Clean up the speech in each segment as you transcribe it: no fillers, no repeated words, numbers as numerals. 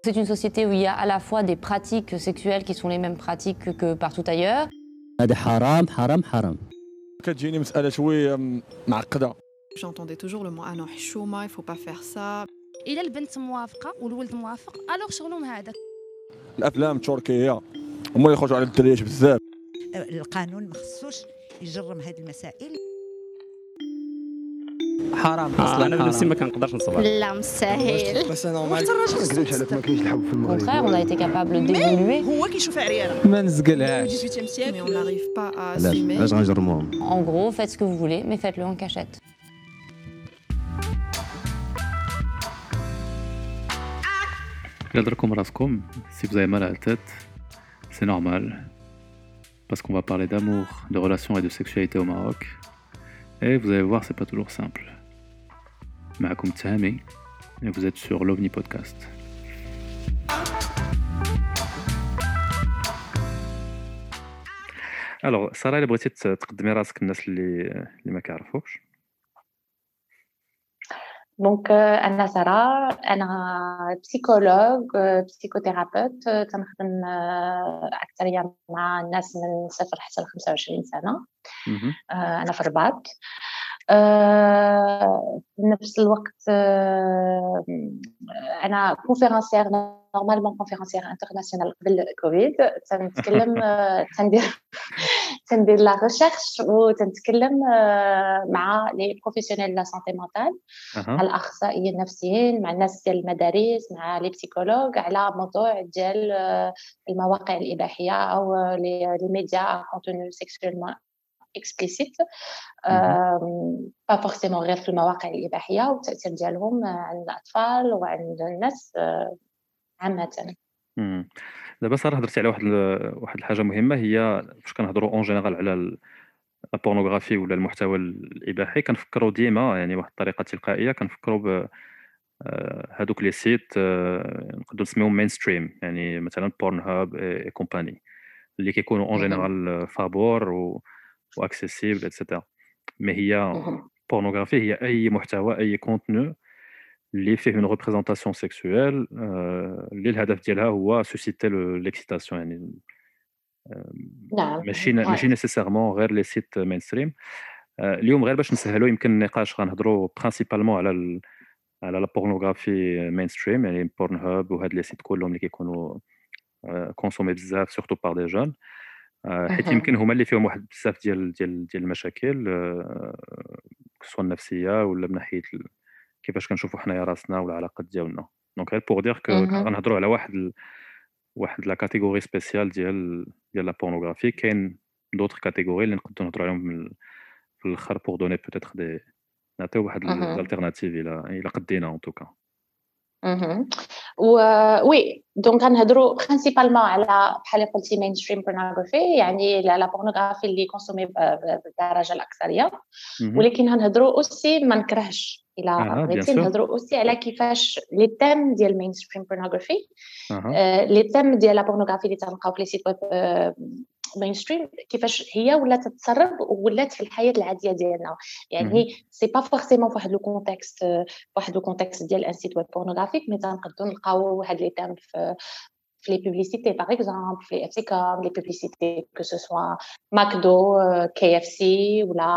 C'est une société où il y a à la fois des pratiques sexuelles qui sont les mêmes pratiques que partout ailleurs. هذا حرام حرام حرام. كتجيني مسألة شوية معقدة. J'entendais toujours le mot ah non حشومة, il faut pas faire ça. إلا البنت موافقة والولد موافق الوغ شغلهم هذاك. الأفلام التركية هما اللي يخرجوا على الدريات بزاف. القانون ما خصوش يجرم هذه المسائل. حرام اصلا انا بنفسي ما كنقدرش نصبر. لا مستحيل. بس نورمال ما كذبش عليك ما كاينش الحب في Au المغرب. contraire, on a été capable d'évoluer. هو كيشوف عريانه ما نزقلهاش. 18e siècle, mais on n'arrive pas à assumer. علاش غنجرموهم؟ En gros, faites ce que vous voulez, mais faites-le en cachette. Garderez raskom, si vous avez mal à la tête, c'est normal. Parce qu'on va parler d'amour, de relations et de sexualité au Maroc. Et vous allez voir, c'est pas toujours simple. Maakoum Tahami, et vous êtes sur l'OVNI Podcast. Alors, Sarah, elle بغيتي تقدمي راسك للناس اللي ما كيعرفوكش. دونك انا ساره، انا بسيكولوج بسيكوثيرابيوت، تنخدم اكثريه مع الناس من 0 حتى ل 25 سنه. انا في الرباط. في نفس الوقت انا كونفيرونسيير، نورمالمون كونفيرونسيير انترناسيونال قبل كوفيد. تنتكلم تندير لا ريشيرش وتنتكلم مع لي بروفيسيونيل لا سانتي مونتال، مع الاخصائيين النفسيين، مع الناس ديال المدارس، مع لي بسيكولوج، على موضوع ديال المواقع الاباحيه او لي ميديا كونتوني سيكسويلمون explicite, pas forcément غير في المواقع الإباحية، والتأثير ديالهم عند الأطفال وعند الناس عامة. دابا صراحه هضرتي على واحد الحاجه مهمه، هي فاش كنهضروا اون جينيرال على البورنوغرافي ولا المحتوى الاباحي، كنفكروا ديما يعني واحد الطريقه تلقائيه كنفكروا ب هادوك لي سيت نقدروا نسميوهم مين ستريم، يعني مثلا بورن هاب اي كومباني اللي كيكونوا اون جينيرال فابور واكسيسيبل اتسيتيرا. مي هي بورنوغرافي هي اي محتوى، اي كونتوني اللي فيه اون ريبريزونطاسيون سيكسويل اللي الهدف ديالها هو سوسيتي ليكسيتاسيون، يعني نعم ماشي نيسيسيرمون غير لي سيت مين ستريم. اليوم غير باش نسهلوا يمكن النقاش غنهضروا برينسيبالمون على لا بورنوغرافي مين ستريم، يعني بورن هاب وهاد لي سيت كلهم اللي كيكونوا كونسومي بزاف سورتو بار دي جون، حيت يمكن هما اللي فيهم واحد بزاف ديال المشاكل سواء النفسيه ولا من ناحيه كيفاش كنشوفوا حنايا راسنا والعلاقات ديالنا. دونك غير بور دير كو غنهضروا على واحد لا كاتيجوري سبيسيال ديال لا بورنوغرافي. كاين دوطر كاتيجوري اللي نقدروا نهضروا عليهم في الاخر بور دوني بوتيتر دي نعطيو واحد الالتيرناتيف الى قدينا ان توكا. وي دونك غنهضروا برينسيبالمون على بحال قلتي مين ستريم بورنوغرافي، يعني لا بورنوغرافي اللي كونسومي بالدرجه الاكثريه، ولكن غنهضروا اوسي ما نكرهش الى بغيتي نهضروا اوسي على كيفاش لي تيم ديال مين ستريم بورنوغرافي، لي تيم ديال لا بورنوغرافي اللي تنلقاو في لي سيت ويب مين ستريم، كيفاش هي ولات تتسرب ولات في الحياه العاديه ديالنا. يعني سي با فورسيمون فواحد لو كونتكست ديال ان سيت ويب بورنوغرافيك، مي تنقدروا نلقاو هاد لي تيم في les publicités par exemple, les FCCOM, les publicités que ce soit McDo, KFC ou là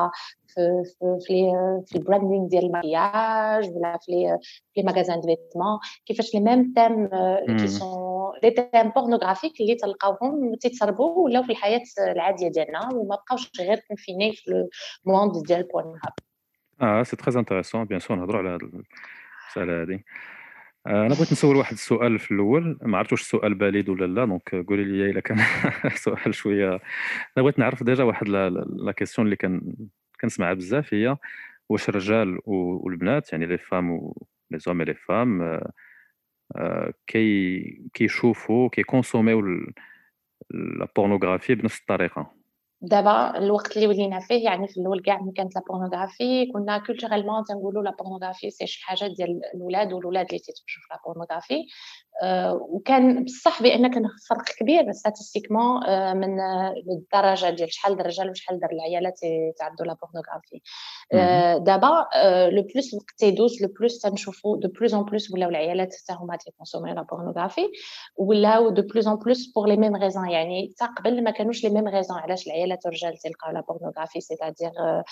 في البراندينغ ديال المكياج ولا في les magasins de vêtements، كيفاش les mêmes thèmes qui sont des thèmes pornographiques اللي تلقاوهم تيتسربوا ولاو في الحياة العادية ديالنا وما بقاوش غير كونفيني في الموند ديال بورن هاب. سي تري انتريسون بيان سور نهضروا على هاد المساله هادي. انا بغيت نسول واحد السؤال في الاول، ما عرفتش السؤال باليد ولا لا، دونك قولي لي الا كان سؤال شويه. انا بغيت نعرف ديجا واحد لا كيسيون اللي كنسمعها بزاف، هي واش الرجال والبنات يعني لي فام و لي زوم لي فام كيشوفوا كيكونسوميو لا بورنوغرافي بنفس الطريقه. دابا الوقت اللي ولينا فيه يعني في الاول كاع ملي كانت لا بورنوغرافي كنا كولتورالمون تنقولوا لا بورنوغرافي سي شي حاجه ديال الولاد والولاد اللي تيتفرجوا في لا بورنوغرافي وكان بصح بان كان فرق كبير ستاتستيكمون من الدرجه ديال شحال د الرجال وشحال د العيالات تعدوا لا بورنوغرافي دابا لو بلوس الوقت تيدوز لو بلوس تنشوفوا دو بلوس ان بلوس ولاو العيالات حتى هما تيكونسوميو لا بورنوغرافي ولاو دو بلوس ان بلوس بور لي ميم ريزون يعني حتى قبل ما كانوش لي ميم ريزون علاش العيالات والرجال تلقاو لا بورنوغرافي سيتادير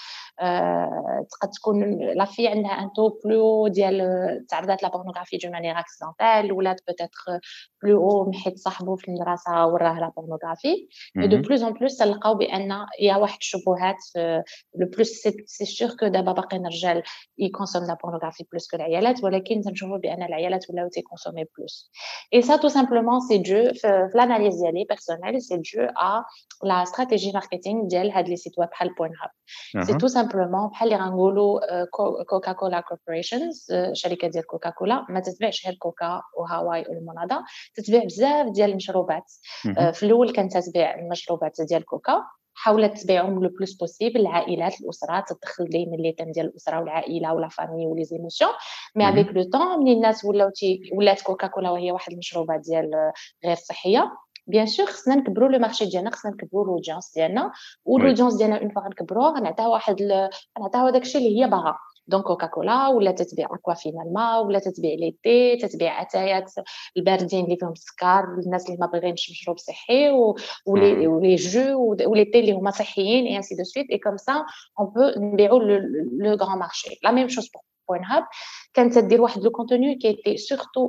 تقد تكون لا في عندها ان تو بلو ديال تعرضات لا بورنوغرافي دو مانيير اكسيدونتال ولات peut-être plus haut حيت صاحبو في المدرسه وراه لا بورنوغرافي et de plus en plus تلقاو بان يا واحد الشبهات لو بلوس سي سور كو دابا باقيين الرجال يكونسوم لا بورنوغرافي بلوس كو العيالات ولكن تنشوفوا بان العيالات ولاو تيكونسومي بلوس et ça tout simplement c'est dû في l'analyse ديالي personnelle c'est dû à la stratégie marketing ديال هاد لي سيت ويب بحال بورنهاب c'est tout simplement بحال اللي غنقولوا كوكا كولا كوربوريشنز شركه ديال كوكا كولا ما تتبيعش غير كوكا وهاواي والمونادا تتبيع بزاف ديال المشروبات في الاول كانت تتبيع المشروبات ديال كوكا حاولت تبيعهم لو بلوس بوسيبل العائلات الاسرات تدخل دائما لي تام ديال الاسره والعائله ولا فامي ولي زيموسيون مي افيك لو طون ملي الناس ولات كوكا كولا وهي واحد المشروبات ديال غير صحيه بيان سور خصنا نكبروا لو مارشي ديالنا خصنا نكبروا لودونس ديالنا ولودونس ديالنا اون فوا نكبروه غنعطيو غنعطيو داكشي اللي هي باغا دونك كوكا كولا ولا تتبيع اكوا فينالما ولا تتبيع لي تي تتبيع اتايات الباردين اللي فيهم السكر الناس اللي ما باغيينش مشروب صحي ولي جو ولي تي اللي هما صحيين اي انسي دو سويت اي كوم سا اون بو نبيعوا لو غران مارشي لا ميم شوز بورنهاب كانت تدير واحد لو كونتوني كي تي سورتو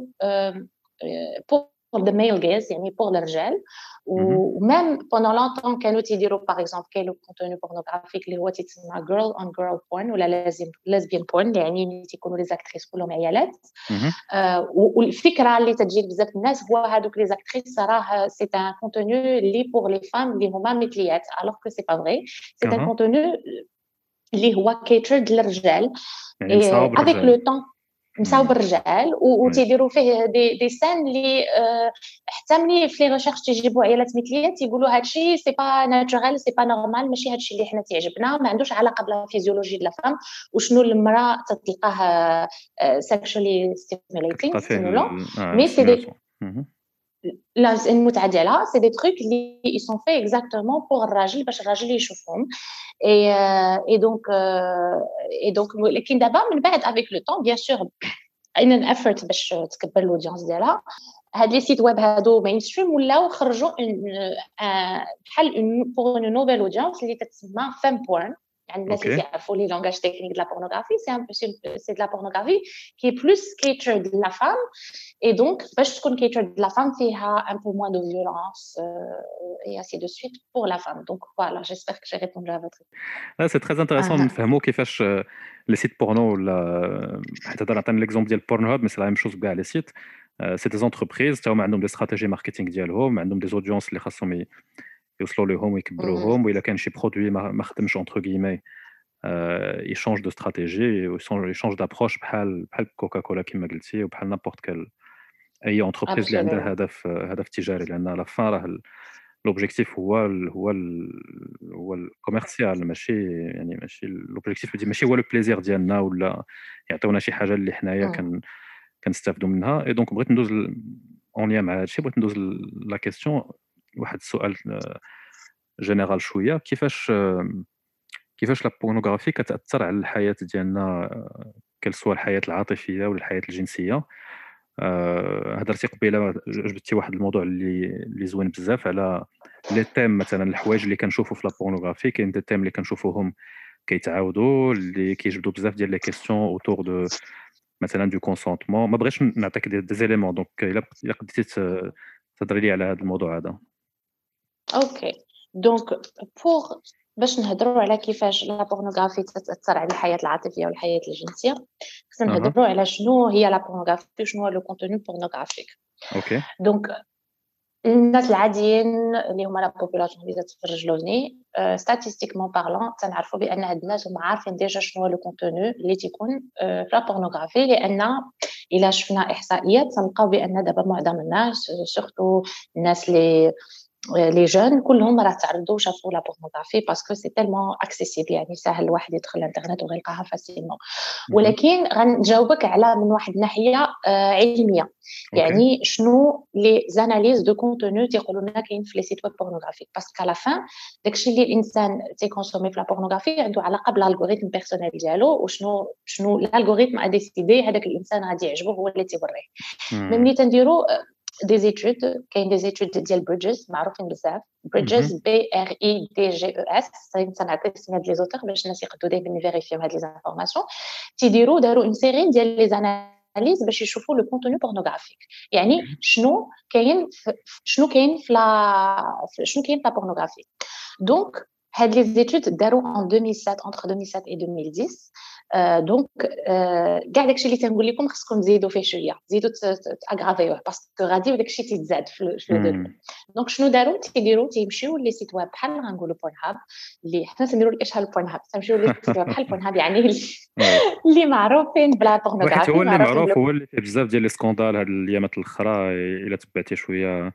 pour the male gaze يعني pour الرجال ومام pendant longtemps كانوا تيديروا par exemple كاين لو كونتوني بورنوغرافيك اللي هو تيتسمى girl on girl porn ولا lesbian porn يعني تيكونوا لي زاكتريس كلهم عيالات والفكره اللي تجي بزاف الناس هو هذوك لي زاكتريس راه سي ان كونتوني اللي pour les femmes اللي هما مثليات alors que c'est pas vrai c'est un contenu اللي هو catered للرجال يعني avec le temps مصاوب الرجال وتيديروا فيه دي سان اللي حتى ملي في لي ريشيرش تيجيبوا عيالات مثليات تيقولوا هادشي سي با ناتورال سي با نورمال ماشي هادشي اللي حنا تيعجبنا ما عندوش علاقه بالفيزيولوجي ديال الفام وشنو المراه تلقاه سيكشوالي ستيموليتينغ ستيمولون مي سي دي لا المتعه ديالها سي دي تروك اللي ils sont faits exactement pour الراجل باش الراجل يشوفهم et donc لكن دابا من بعد avec le temps bien sûr ان effort باش تكبر الاودينس ديالها هاد لي سيت ويب هادو مين ستريم ولاو خرجوا بحال pour une nouvelle audience اللي تتسمى femme porn يعني الناس اللي يعرفوا لي لونغاج تكنيك ديال لا بورنوغرافي سي دو لا بورنوغرافي كي بلوس catered لا فام et donc باش تكون catered la femme فيها un peu moins de violence et ainsi de suite pour la femme donc voilà j'espère que j'ai répondu à votre question. C'est très intéressant نفهموا كيفاش لي سيت بورنو ولا حتى نعطي ليكزومبل ديال بورنهاب مي سي لا ميم شوز كاع لي سيت سي دي زونتربريز تا هما عندهم دي استراتيجي ماركتينغ ديالهم عندهم دي اودينس اللي خاصهم يوصلوا لهم ويكبروهم والا كان شي برودوي ما خدمش اونتر غيمي يشونج دو استراتيجي ويشونج دابروش بحال كوكا كولا كما قلتي وبحال نابورت كال اي انتربريز اللي عندها هدف تجاري لان لا فان راه لوبجيكتيف هو الكوميرسيال ماشي لوبجيكتيف ماشي هو لو بليزير ديالنا ولا يعطيونا شي حاجه اللي حنايا كنستافدوا منها اي دونك بغيت ندوز اون ليا مع هادشي بغيت ندوز لا كيسيون واحد السؤال جينيرال شويه كيفاش لا بورنوغرافي كتاثر على الحياه ديالنا كالسوا الحياه العاطفيه ولا الحياه الجنسيه هضرتي قبيله جبتي واحد الموضوع اللي زوين بزاف على لي تيم مثلا الحوايج اللي كنشوفوا في لا بورنوغرافي كاين دي تيم اللي كنشوفوهم كيتعاودوا اللي كيجبدوا بزاف ديال لي كيسيون اوتور دو مثلا دو كونسونطمون ما بغيتش نعطيك دي زيليمون دونك الا قدرتي تهضري لي على هذا الموضوع هذا اوكي دونك بور باش نهضروا على كيفاش لا بورنوغرافي تاثر على الحياه العاطفيه والحياه الجنسيه خصنا نهضروا على شنو هي لا بورنوغرافي وشنو هو لو كونتوني بورنوغرافيك اوكي دونك الناس العاديين اللي هما لا بوبولاسيون اللي تتفرج لوني ستاتيستيكمون بارلون تنعرفوا بان هاد الناس هما عارفين ديجا شنو هو لو كونتوني اللي تيكون في لا بورنوغرافي لان الا شفنا احصائيات تلقاو بان دابا معظم الناس سورتو الناس اللي لي جون كلهم راه تعرضوا شافوا لا بورنوغرافي باسكو سي تالمون اكسيسيبل يعني سهل الواحد يدخل الانترنت ويلقاها فاسيلمون. ولكن غنجاوبك على من واحد الناحيه علميه يعني شنو لي زاناليز دو كونتوني تيقولوا لنا كاين في لي سيت ويب بورنوغرافيك باسكو على فان داكشي اللي الانسان تيكونسومي في لا بورنوغرافي عنده علاقه بالالغوريثم بيرسونيل ديالو وشنو الالغوريثم ا ديسيدي هذاك الانسان غادي يعجبه هو اللي تيوريه. ملي تنديروا des études كاين des études ديال بريدجز معروفين بزاف بريدجز BRIDGES سنعطي اسماء ديال لي زوتور باش الناس يقدروا دائما يفيريفيو هاد لي زانفورماسيون داروا اون سيري ديال لي زاناليز باش يشوفوا لو كونتوني بورنوغرافيك يعني شنو كاين في لا بورنوغرافي. دونك هاد لي زيتود داروا en 2007 entre 2007 et 2010 دونك كاع داكشي اللي تنقول لكم خصكم تزيدوا فيه شويه تزيدوا تاغرافيوه باسكو غادي وداكشي تيتزاد في لو ديفلوب. دونك شنو داروا تيمشيو لي سيت ويب بحال غنقولوا بورن هاب اللي حنا تنديروا الاشهار البورن هاب تمشيو لي سيت ويب بحال بورن هاب يعني اللي معروفين بلا بورنوغرافي هو اللي معروف هو اللي فيه بزاف ديال لي سكوندال هاد الايامات الاخرى الا تبعتي شويه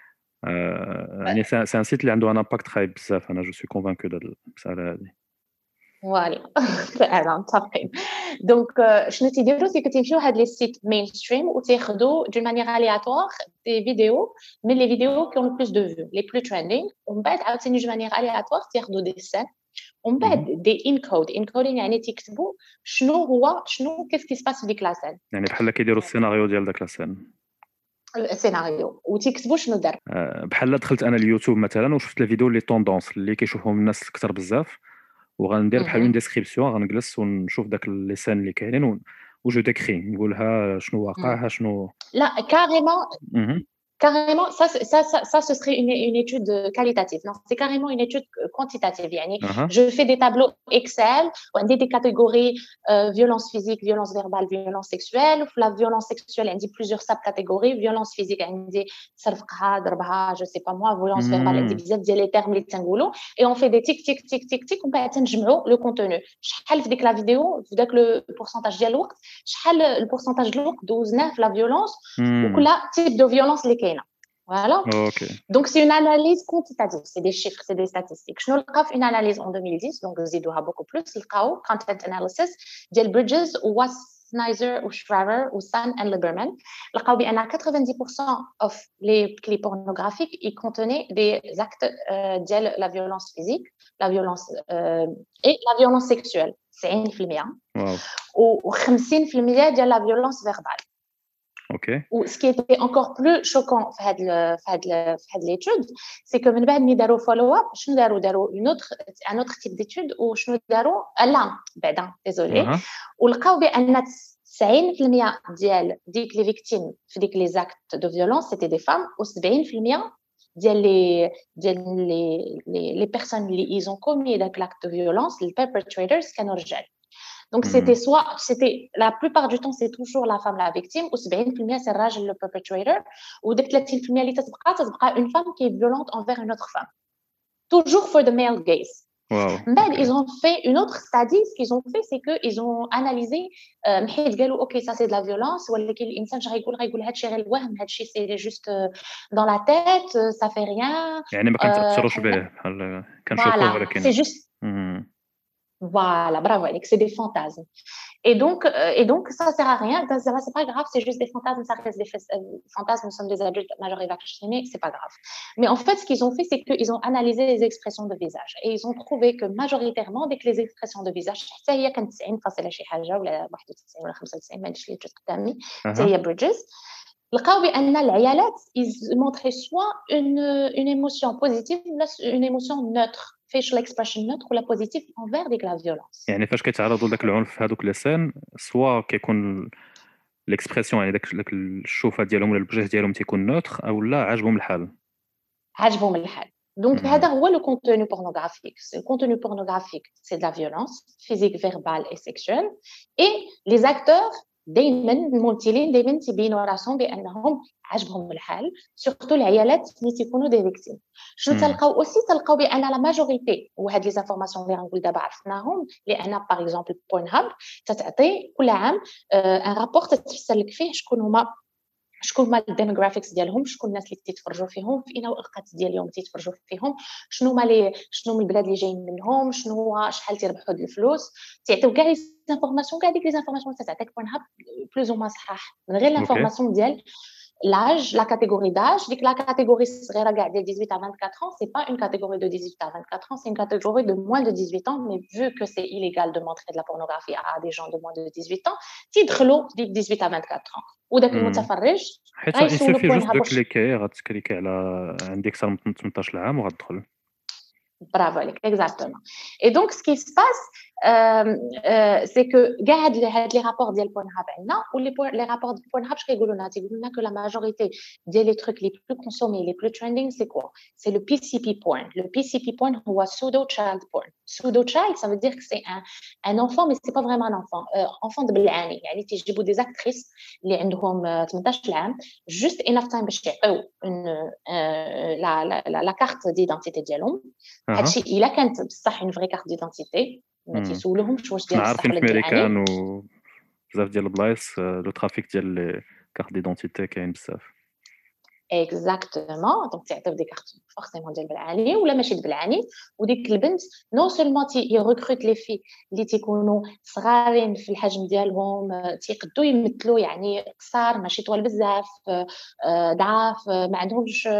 يعني سي ان سيت اللي عنده ان امباكت خايب بزاف. انا جو سوي كونفانكو ديال المساله هذه فوالا انا متفقين. دونك شنو تيديروا سي كتمشيو هاد لي سيت مين ستريم وتاخذوا دون مانيير الياتوار دي فيديو من لي فيديو كي اون بلوس دو فيو لي بلو تريندينغ ومن بعد عاوتاني دون مانيير الياتوار تاخذوا دي سين ومن بعد دي انكودين يعني تيكتبوا شنو كيف كي سباس في ديك لا سين يعني بحال كيديروا السيناريو ديال داك لا سين السيناريو وتيكتبوا شنو دار. بحال دخلت انا اليوتيوب مثلا وشفت الفيديو لي طوندونس اللي كيشوفهم الناس اكثر بزاف وغندير بحال اون ديسكريبسيون غنجلس ونشوف داك لي سين اللي كاينين وجو ديكري نقولها شنو واقع شنو لا carrément ça ce serait une étude qualitative. Non, c'est carrément une étude quantitative يعني je fais des tableaux Excel où عندي des catégories violence physique, violence verbale, violence sexuelle. Pour la violence sexuelle عندي plusieurs sub-catégories. Violence physique عندي سرقها ضربها je sais pas moi. Violence verbale عندي بزاف ديال لي termes اللي تنقولوا et on fait des tic tic tic tic tic ومن بعد تنجمعوا le contenu شحال في ديك لا فيديو في داك لو pourcentage ديال الوقت شحال البورسنتاج ديال الوقت دوزناه في لا violence وكل type de violence اللي كاينه. Voilà. Okay. Donc, c'est une analyse quantitative, c'est des chiffres, c'est des statistiques. Je n'ai une analyse en 2010, donc Zidouha beaucoup plus, le content analysis, Diel Bridges, ou Snyder, ou Schreiber, ou Sun and Lieberman. Le cas où il y a 90% of les clips pornographiques, ils contenaient des actes de la violence physique, la violence et la violence sexuelle. C'est 1%. Wow. Ou 50% de la violence verbale. Okay. Ou ce qui était encore plus choquant في l'étude, c'est que من بعد ملي داروا follow up شنو داروا un autre type d'étude ou شنو داروا لا بعدا désolé ولقاو بان 90% ديال ديك لي فيكتيم في ديك لي زاكت دو فيولونس سيتي دي فام و 70% ديال لي بيرسون اللي ايزون كومي داك لاكت دو فيولونس لي perpetrators كانوا رجال. Donc, c'était la plupart du temps, c'est toujours la femme la victime, ou 70% c'est الراجل le perpetrator, ou 30% اللي تتبقى une femme qui est violente envers une autre femme. Toujours for the male gaze. Wow. Mais ils ont fait une autre study, ce qu'ils ont fait, c'est qu'ils ont analysé, حيت قالوا ok ça c'est de la violence, ولكن الإنسان غيقول هادشي غير الوهم, هادشي c'est juste dans la tête, ça fait rien. يعني ما كنتأثروش به بحال كنشوفوه ولكن. C'est juste. Voilà, bravo, Alex, c'est des fantasmes. Et donc, ça ne sert à rien. C'est pas grave, c'est juste des fantasmes, ça reste des fantasmes. Nous sommes des adultes majeurs et vaccinés, c'est pas grave. Mais en fait, ce qu'ils ont fait, c'est qu'ils ont analysé les expressions de visage et ils ont trouvé que majoritairement, dès que les expressions de visage, حتى هي كانت 90 شي حاجة ولا 91 ولا 95 ما ادريش اللي جات قدامي حتى هي بريدجز لقاو بان العيالات ils montraient soit une émotion positive ou une émotion neutre. facial expression neutre ولا positive envers ديك لا violence. يعني فاش كيتعرضوا لذاك العنف في هذوك لسان سوا كيكون ليكسبرسيون يعني داك الشوفه ديالهم ولا الوجه ديالهم تيكون نوتر او لا عاجبهم الحال. Donc هذا هو le contenu pornographique. Le contenu pornographique, c'est de la violence physique, verbale et sexuelle et les acteurs دائما الممثلين دائما تيبينوا راسهم بانهم عجبهم الحال سورتو العيالات اللي تيكونوا دي فيكتيم. شنو تلقاو بان لا ماجوريتي وهاد لي زانفورماسيون اللي غنقول دابا عرفناهم لان باغ اكزومبل بورن هاب تتعطي كل عام ان رابور تتفسر لك فيه شكون هما شكون هما الديموغرافيكس ديالهم، شكون الناس اللي تيتفرجوا فيهم، في اين اوقات ديال اليوم تيتفرجوا فيهم، شنو هما البلاد اللي جايين منهم، شنو هو شحال تيربحوا د الفلوس، تيعطيو كاع لي زانفورماسيون، كاع ديك لي زانفورماسيون تتعطيك بورن هاب بلوز او ما صحاح من غير لانفورماسيون ديال l'âge, la catégorie d'âge. Dit que la catégorie صغيرة كاع ديال 18 à 24 ans, c'est pas une catégorie de 18 à 24 ans, c'est une catégorie de moins de 18 ans, mais vu que c'est illégal de montrer de la pornographie à des gens de moins de 18 ans, تيدخلوا ديك 18 à 24 ans. وداك المتفرج حيت غيسولو يسوفي بورن جوست هاب. دوكليكي غتكليكي على عندك اكثر من 18 عام وغتدخل. Bravo, exactement. Et donc, ce qui se passe, c'est que les rapports de Pornhub ou les rapports de Pornhub, je dis que la majorité des trucs les plus consommés, les plus trending, c'est quoi? C'est le PCP porn. Le PCP porn ou pseudo-child porn. Pseudo-child, ça veut dire que c'est un enfant, mais c'est pas vraiment un enfant. Enfant de بالعاني. يعني تيجيبوا des actrices اللي عندهم 18 عام, juste enough time باش يعطيو la carte d'identité ديالهم. هادشي الا كانت بصح اون فري كارت ديدونتيتي ما تيسولوهمش واش ديال الصح ولا ديال الامريكان وبزاف ديال البلايص لو ترافيك ديال لي كارت ديدونتيتي كاين بزاف. اكزاكتومون دونك تعطيو دي كارت فورسيمون ديال بالعاني ولا ماشي بالعاني, وديك البنت نو سولمون يركروت لي في اللي تيكونوا صغارين في الحجم ديالهم, تيقدوا يمثلوا يعني قصار ماشي طوال بزاف, ضعاف, ما عندهمش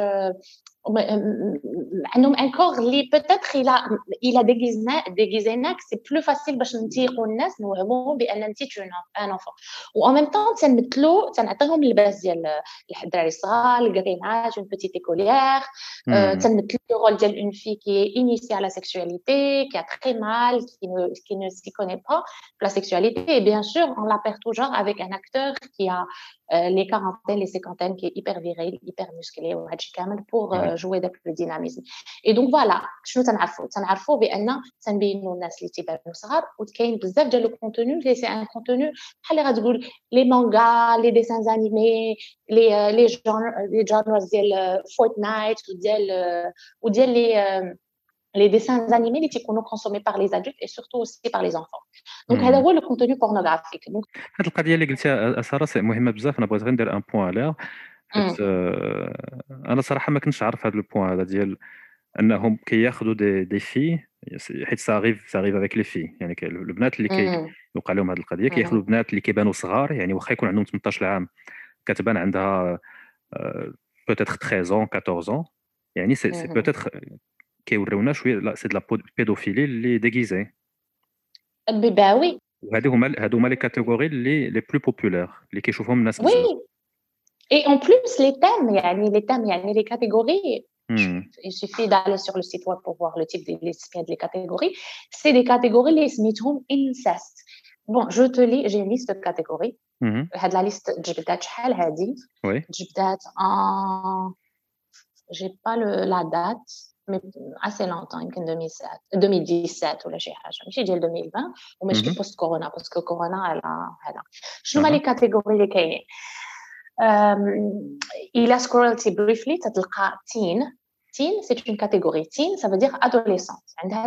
عندهم ان كور اللي peut-être il a déguisé c'est plus facile باش نتيقوا الناس نوهموهم بان انت ان enfant و en même temps تنمثلوا تنعطيهم اللباس ديال الدراري الصغار, الكريناج, une petite écolière, تنمثلوا le rôle ديال une fille qui est initiée à la sexualité, qui a très mal, qui ne s'y connaît pas la sexualité, et bien sûr on la perd toujours avec un acteur qui a les quarantaines, les cinquantaines, qui est hyper viril, hyper musclé وهادشي كامل pour jouer داك le dynamisme. Et donc voilà, شنو تنعرفوا بان تنبينوا الناس اللي تيبانوا صغار, وكاين بزاف ديال لو كونتوني اللي سي ان كونتوني بحال اللي غتقول لي مانغا, لي ديسان انيمي, لي جانرز ديال فورتنايت وديال les dessins animés اللي تيكونوا consommés par les adultes et surtout aussi par les enfants. Donc هذا هو le contenu pornographique. Donc هاد القضيه اللي قلتيها ساره سي مهمه بزاف, انا بغيت غير ندير ان بوين عليها حيت انا صراحه ما كنتش عارف هذا البوين هذا ديال انهم كياخذوا دي في, حيت ساريف افيك لي في, يعني البنات اللي كيوقع لهم هذه القضيه كياخذوا البنات اللي كيبانوا صغار, يعني واخا يكون عندهم 18 عام كتبان عندها peut-être 13 ans 14 ans, يعني سي peut-être كيوريونا شويه لا سي دو لا بيدوفيلي اللي ديغيزي البيباوي, وهادو هما لي كاتيجوري اللي لي بلو بوبولير اللي كيشوفهم الناس بزاف. Oui, et en plus les thèmes يعني les catégories, il suffit d'aller sur le site web pour voir le type des catégories, c'est des catégories اللي سميتهم incest. Bon, je te lis, j'ai une liste de catégories. هاد la liste جبدات شحال هادي, جبدات en j'ai pas la date mais assez longtemps, يمكن 2017 ولا شي حاجه, ماشي ديال 2020 وماشي بوست كورونا, باسكو كورونا على هذا. شنو هما لي كاتيجوري اللي كاينين؟ الى سكرولتي بريفلي تتلقى تين سي اون كاتيجوري. تين ça veut dire adolescente, عندها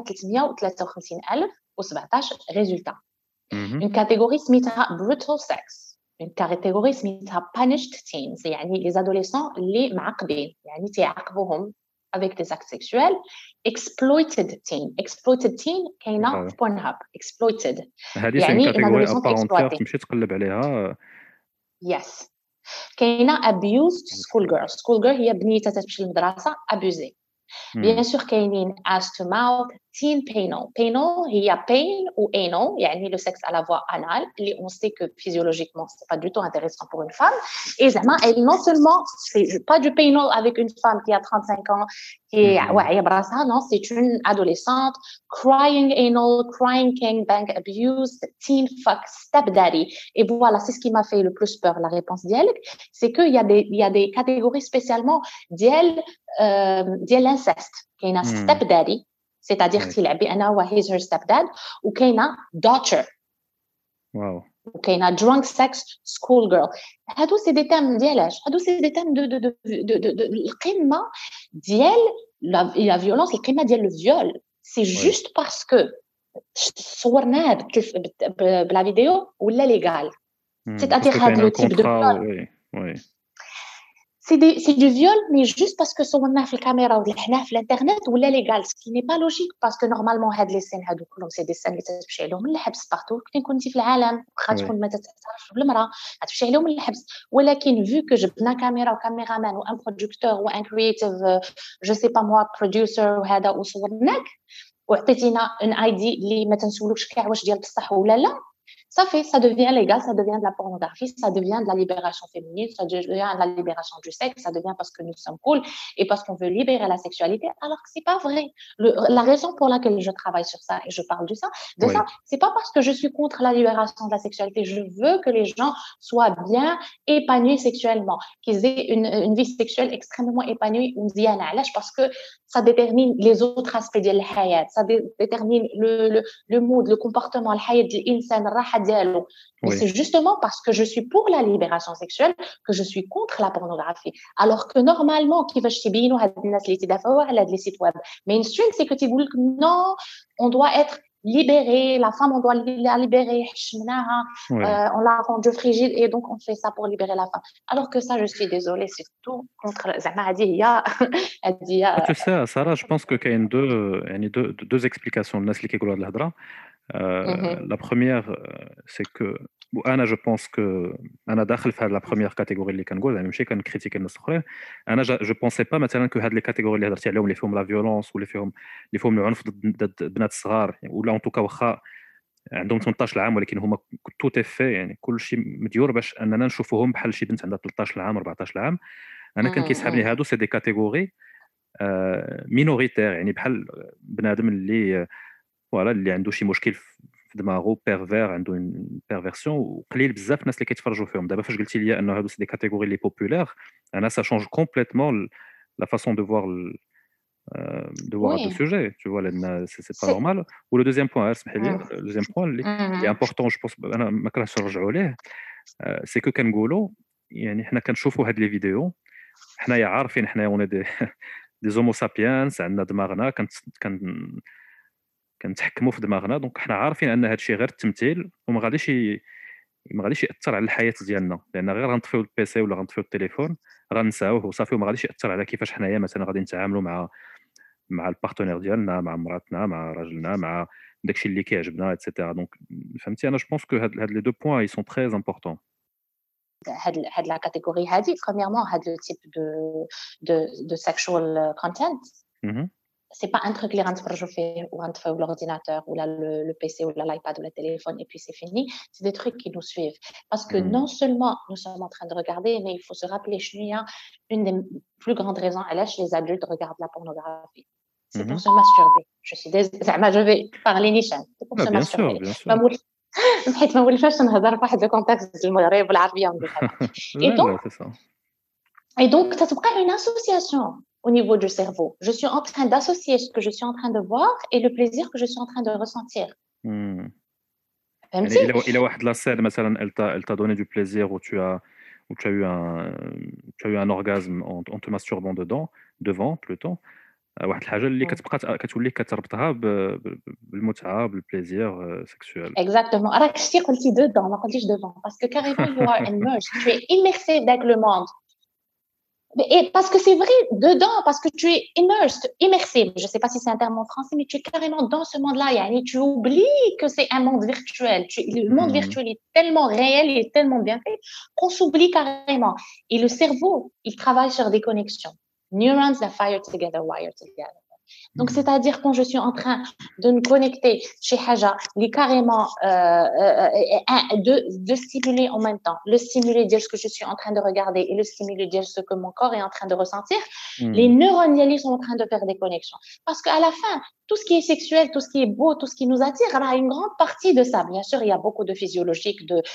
353,017 ريزولتا. une catégorie سميتها brutal sex, une catégorie سميتها punished teens, يعني les adolescents اللي معقدين, يعني تيعاقبوهم avec des actes sexuels. exploited teen كاينه في Pornhub. exploited يعني une catégorie à part entière تمشي تقلب عليها. yes. كاينه abused school girl هي بنيته تمشي للمدرسه abusée. bien sûr كاينين as to mouth, teen penile هي pain ou anal, يعني le sexe à la voie anale, اللي on sait que physiologiquement c'est pas du tout intéressant pour une femme, et زعما elle non seulement c'est pas du penile avec une femme qui a 35 ans qui est واعيه براسها, non, c'est une adolescente. crying anal, crying gangbang abuse, teen fuck, step daddy. Et voilà, c'est ce qui m'a fait le plus peur, la réponse ديالك, c'est que il y a des catégories spécialement ديال l'inceste. كاينه step daddy, c'est-à-dire تيلعب بأنه هو he's her stepdad, وكاينه daughter, واو, وكاينه drunk sex school girl. هادو سي دي تام ديالاش, هادو سي دي تام دو القمه ديال لا فيولونس, القمه ديال لو فيول. سي جوست باسكو صورناه بلا فيديو ولا ليغال, c'est-à-dire هاد لو تيب دو وي c'est du viol, mais juste parce que صورناه في الكاميرا ولحناه في الانترنت ولا ليغال، ce qui n'est pas logique parce que normalement هاد لي سين هادو كلهم سي دي سين اللي تمشي عليهم الحبس بارتو كي كنتي في العالم، واخا تكون ما تتعرفش بالمراه غتمشي عليهم الحبس. ولكن vu que جبنا كاميرا وكاميرامان وان برودكتور وان كرييتيف جو سي با موا بروديوسر وهذا وصورناك وعطيتينا ان اي دي اللي ما تنسولوكش كاع واش ديال بصح ولا لا، ça fait, ça devient légal, ça devient de la pornographie, ça devient de la libération féminine, ça devient de la libération du sexe, ça devient parce que nous sommes cool et parce qu'on veut libérer la sexualité, alors que c'est pas vrai. La raison pour laquelle je travaille sur ça et je parle de ça, c'est pas parce que je suis contre la libération de la sexualité. Je veux que les gens soient bien épanouis sexuellement, qu'ils aient une vie sexuelle extrêmement épanouie ou mziana. Parce que ça détermine les autres aspects de la hayat, ça détermine le mood, le comportement, le hayat de l'insan, mais c'est justement parce que je suis pour la libération sexuelle que je suis contre la pornographie. Alors que normalement, كيفاش تبينوا هاد الناس اللي تدافعوا على les sites web mainstream, c'est que تقول لك non, on doit être libéré, la femme on doit la libérer, on l'a rendue frigide et donc on fait ça pour libérer la femme. Alors que ça, je suis désolée, c'est tout contre زعما هذه هي Tu sais, Sarah, je pense que كاين deux explications للناس اللي كيقولوا هاد الهضره. La première, c'est que انا جو بونس كو انا داخل في هذه لا بروميير كاتيجوري اللي كنقول زعما ماشي كنكريتيكي الناس الاخرين. انا جو بونسي با مثلا كو هاد لي كاتيجوري اللي هضرتي عليهم اللي فيهم لا فيولونس ولا فيهم العنف ضد البنات الصغار ولا ان توكا واخا عندهم 18 عام ولكن هما تو تيفي يعني كل شيء مديور باش اننا نشوفوهم بحال شي بنت عندها 13 عام 14 عام. انا كان كيسحبني هادو سي دي كاتيجوري مينوريتير يعني بحال بنادم اللي فوالا اللي عنده شي مشكل في دماغو بيرفير عنده اون بيرفيرسيون وقليل بزاف الناس اللي كيتفرجوا فيهم. دابا فاش قلتي لي انه هادو سي دي كاتيجوري لي بوبولير انا سا شونج كومبليتمون لا فاصون دو فوار le sujet, tu vois, c'est pas normal. Ou le deuxième point, le deuxième point, qui est important, je pense, ما كرهتش نرجعوا ليه, c'est que كنقولوا يعني حنا كنشوفوا هاد لي فيديو حنايا عارفين حنايا اون دي زومو سابيانس عندنا دماغنا كنتحكموا في دماغنا دونك حنا عارفين ان هاد الشيء غير التمثيل وما غاديش ياثر على الحياه ديالنا لان غير غنطفيو البيسي ولا غنطفيو التليفون غنساوه وصافي وما غاديش ياثر على كيفاش حنايا مثلا غادي نتعاملوا مع البارتنير ديالنا مع مراتنا مع راجلنا مع داكشي اللي كيعجبنا ايتترا. دونك فهمتي انا جو بونس كو هاد لي دو بوين اي سون تري امبورطون. هاد لا كاتيجوري هادي premièrement هاد لو تيب de sexual content c'est pas un truc اللي غنتفرجوا فيه وغنطفيو l'ordinateur ou le PC ou l'iPad ou le téléphone et puis c'est fini. C'est des trucs qui nous suivent parce que non seulement nous sommes en train de regarder mais il faut se rappeler une des plus grandes raisons à l'âge les adultes regardent la pornographie c'est pour se masturber. Je suis زعما je vais parler نيشان c'est pour se masturber. حيت ما ولفاش نهضر في واحد الكونتكست المغرب والعربيه et donc ça تبقى une association au niveau du cerveau. Je suis en train d'associer ce que je suis en train de voir et le plaisir que je suis en train de ressentir. Il a واحد la scène مثلا elle t'a donné du plaisir où tu as eu un orgasme en te masturbant devant plutôt. واحد الحاجه اللي كتولي كتربطها بالمتعه بالبليزير سيكسوال. Exactement. راك شتي قلتي dedans ما قلتيش devant parce que carrément you are immersed. Tu es immersé dans le monde. Et parce que c'est vrai, dedans, parce que tu es immersé. Je ne sais pas si c'est un terme en français, mais tu es carrément dans ce monde-là. Tu oublies que c'est un monde virtuel. Le monde virtuel est tellement réel, il est tellement bien fait qu'on s'oublie carrément. Et le cerveau, il travaille sur des connexions. Neurons that fire together, wire together. Donc, c'est-à-dire quand je suis en train de me connecter chez Haja, carrément de stimuler en même temps, le stimuler dire ce que je suis en train de regarder et le stimuler dire ce que mon corps est en train de ressentir, les neurones sont en train de faire des connexions. Parce qu'à la fin, tout ce qui est sexuel, tout ce qui est beau, tout ce qui nous attire, il y a une grande partie de ça. Bien sûr, il y a beaucoup de physiologique,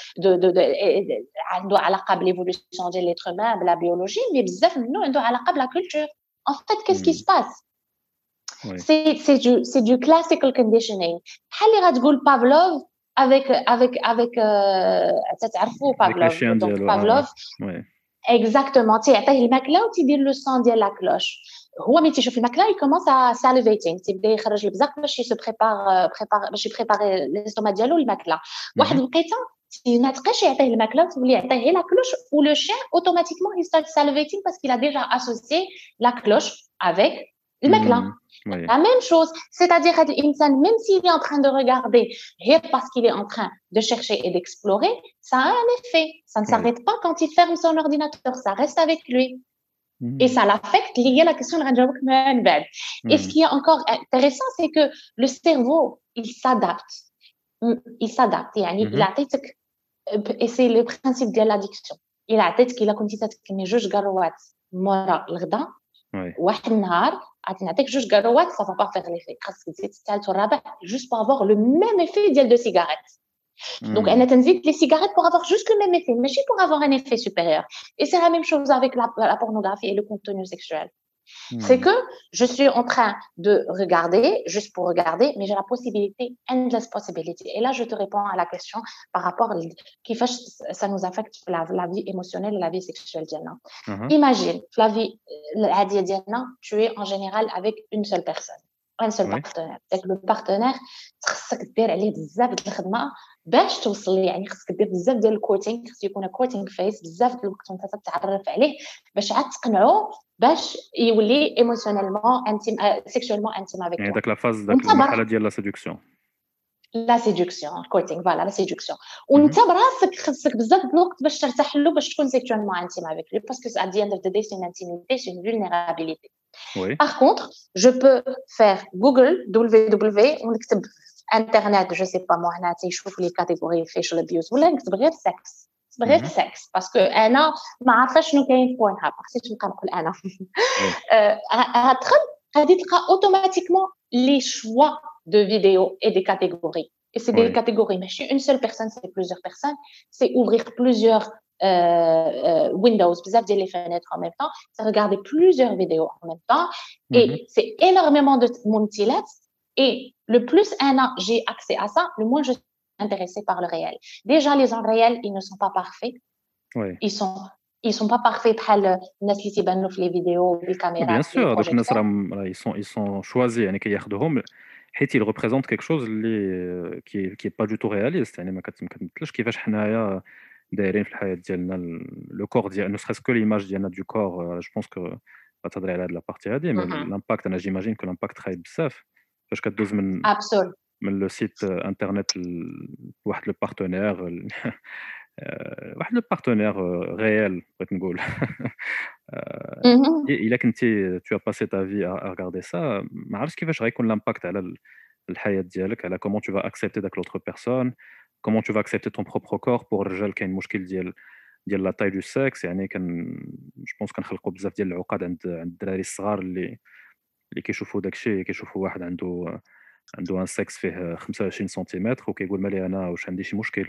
de l'évolution de l'être humain, de la biologie, mais nous, la culture. En fait, qu'est-ce qui se passe? Oui. C'est du classical conditioning. بحال اللي غتقول Pavlov avec تعرفوا Pavlov. Donc Pavlov exactement تيعطيه الماكله وتيدير لو سون ديال لا كلوش. هو ملي تيشوف الماكله يكومونس ساليفيتينغ تيبدا يخرج البزاق باش يسو بريبار باش يبريباري ليستوما ديالو الماكله. واحد الوقيته ما تبقاش يعطيه الماكله تولي يعطيه لا كلوش ou le chien automatiquement il start salivating parce qu'il a déjà associé la cloche avec الماكله. Oui. La même chose, c'est-à-dire هذا الانسان même s'il est en train de regarder غير parce qu'il est en train de chercher et d'explorer, ça a un effet. Ça ne s'arrête pas quand il ferme son ordinateur, ça reste avec lui. Et ça l'affecte lié à la question de غنجاوبك من بعد. Et ce qui est encore intéressant, c'est que le cerveau, il s'adapte. يعني il عطيتك et c'est le principe de l'addiction. il عطيتك الا كنتي تتكلمي جوج قروات مورا الغدا واحد النهار غادي نعطيك جوج قروات ça va pas faire l'effet. خاصك تزيد الثالث والرابع juste pour avoir le même effet ديال دو سيجاريت. Donc انا تنزيد les cigarettes pour avoir juste le même effet, ماشي pour avoir un effet supérieur. Et c'est la même chose avec la pornographie et le contenu sexuel. C'est que je suis en train de regarder, juste pour regarder, mais j'ai la possibilité, endless possibility. Et là, je te réponds à la question par rapport à qui fait ça nous affecte la vie émotionnelle et la vie sexuelle. Imagine, la vie diana, tu es en général avec une seule personne, un seul partenaire. C'est que le partenaire, خصك دير عليه بزاف د الخدمه باش توصل ليه. يعني خصك دير بزاف ديال الكوتينغ، خص يكون كوتينغ فيس بزاف د الوقت وانت تتعرف عليه باش عاد تقنعو باش يولي ايموشنيلمون انتيم سيكشوالمون انتيم افيك. يعني داك لا فاز داك المرحله ديال لا سيدكسيون. لا سيدكسيون كوتينغ فوالا لا سيدكسيون. وانت براسك خصك بزاف د الوقت باش ترتاح له باش تكون سيكشوالمون انتيم افيك لي باسكو at the end of the day c'est une intimité, c'est une vulnérabilité. Oui. Par contre, je peux faire Google www ونكتب internet je sais pas moi هنا تيشوف لي كاتيجوري facial abuse ولا نكتب غير sex غير sex باسكو انا ما عارفه شنو كاين في بورنهاب خصني نبقى نقول انا غتدخل غادي تلقى automatiquement les choix de vidéos et des catégories. Et c'est des catégories ماشي une seule personne, c'est plusieurs personnes, c'est ouvrir plusieurs Windows, بزاف ديال les fenêtres en même temps, c'est regarder plusieurs vidéos en même temps et c'est énormément de منتجات. Et le plus j'ai accès à ça, le moins je suis intéressée par le réel. Déjà les gens réels, ils ne sont pas parfaits. Ils sont pas parfaits بحال الناس اللي تيبانوا في les vidéos بالكاميرا. Bien sûr, donc الناس راه ils sont choisis يعني كياخذوهم حيت ils représentent quelque chose اللي qui est pas du tout réaliste. يعني ما كتمثلش كيفاش حنايا دايرين في الحياه ديالنا لو كور ديال نو سخيس كو ليماج ديالنا دو كور. جو بونس كو غتهضري على هاد لابارتي هادي مي لامباكت انا جيماجين كو لامباكت خايب بزاف فاش كدوز من لو سيت انترنت لواحد لو بارتنير واحد لو بارتنير ريال بغيت نقول. الا كنتي tu as passé ta vie à regarder ça ما عرفتش كيفاش غيكون لامباكت على الحياه ديالك على comment tu vas accepter داك l'autre personne, comment tu vas accepter ton propre corps. pour الرجال كاين مشكل ديال لا تاي دو سكس. يعني جو بونس كنخلقوا بزاف ديال العقد عند الدراري الصغار اللي كيشوفوا داكشي كيشوفوا واحد عنده ان سكس فيه 25 سنتيمتر وكيقول مالي انا واش عندي شي مشكل.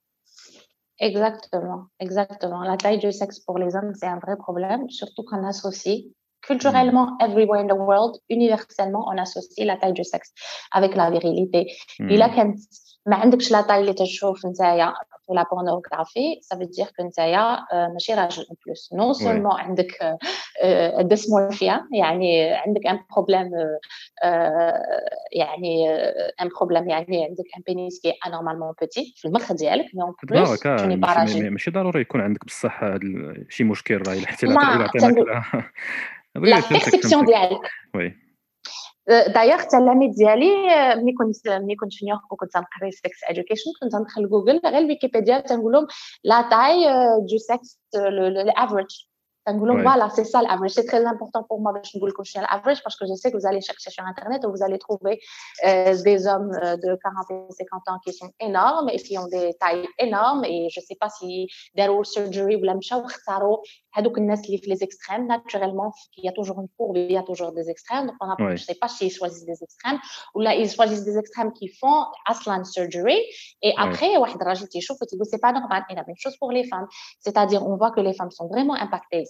Exactement. La taille du sexe pour les hommes, c'est un vrai problème, surtout qu'on associe culturellement, everywhere in the world, universellement, on associe la taille du sexe avec la virilité. إلا كانت ما عندكش لا تاي اللي تشوف نتايا في لا بورنوغرافي ça veut dire que نتايا ماشي راجل en plus. Non seulement عندك dysmorphia يعني عندك un problème يعني un problème يعني عندك un pénis qui est anormalement petit في المخ ديالك mais en plus tu n'es pas راجل. ماشي ضروري يكون عندك بصح شي مشكل راه حتى لا لا perception ديالك. وي دايوغ حتى العميد ديالي ملي كنت في نيويورك وكنت نقري سكس ادوكيشن كنت ندخل جوجل غير ويكيبيديا تنقول لهم لا تاي دو سكس الافريج تنقول لهم فوالا سي سا الافريج. سي تري امبورطون بور موا باش نقول لكم شنو الافريج باسكو جو سي que vous allez chercher sur internet et vous allez trouver des hommes de 40 et 50 ans qui sont énormes et qui ont des tailles énormes et je sais pas si داروا surgery ولا مشاو اختاروا هذوك الناس اللي في les extrêmes. Naturellement il y a toujours une courbe, il y a toujours des extrêmes, donc je sais pas s'ils choisissent des extrêmes ou là ils choisissent des extrêmes qui font aslan surgery et après واحد راجل تيشوف وتيقول c'est pas normal. Et la même chose pour les femmes, c'est-à-dire on voit que les femmes sont vraiment impactées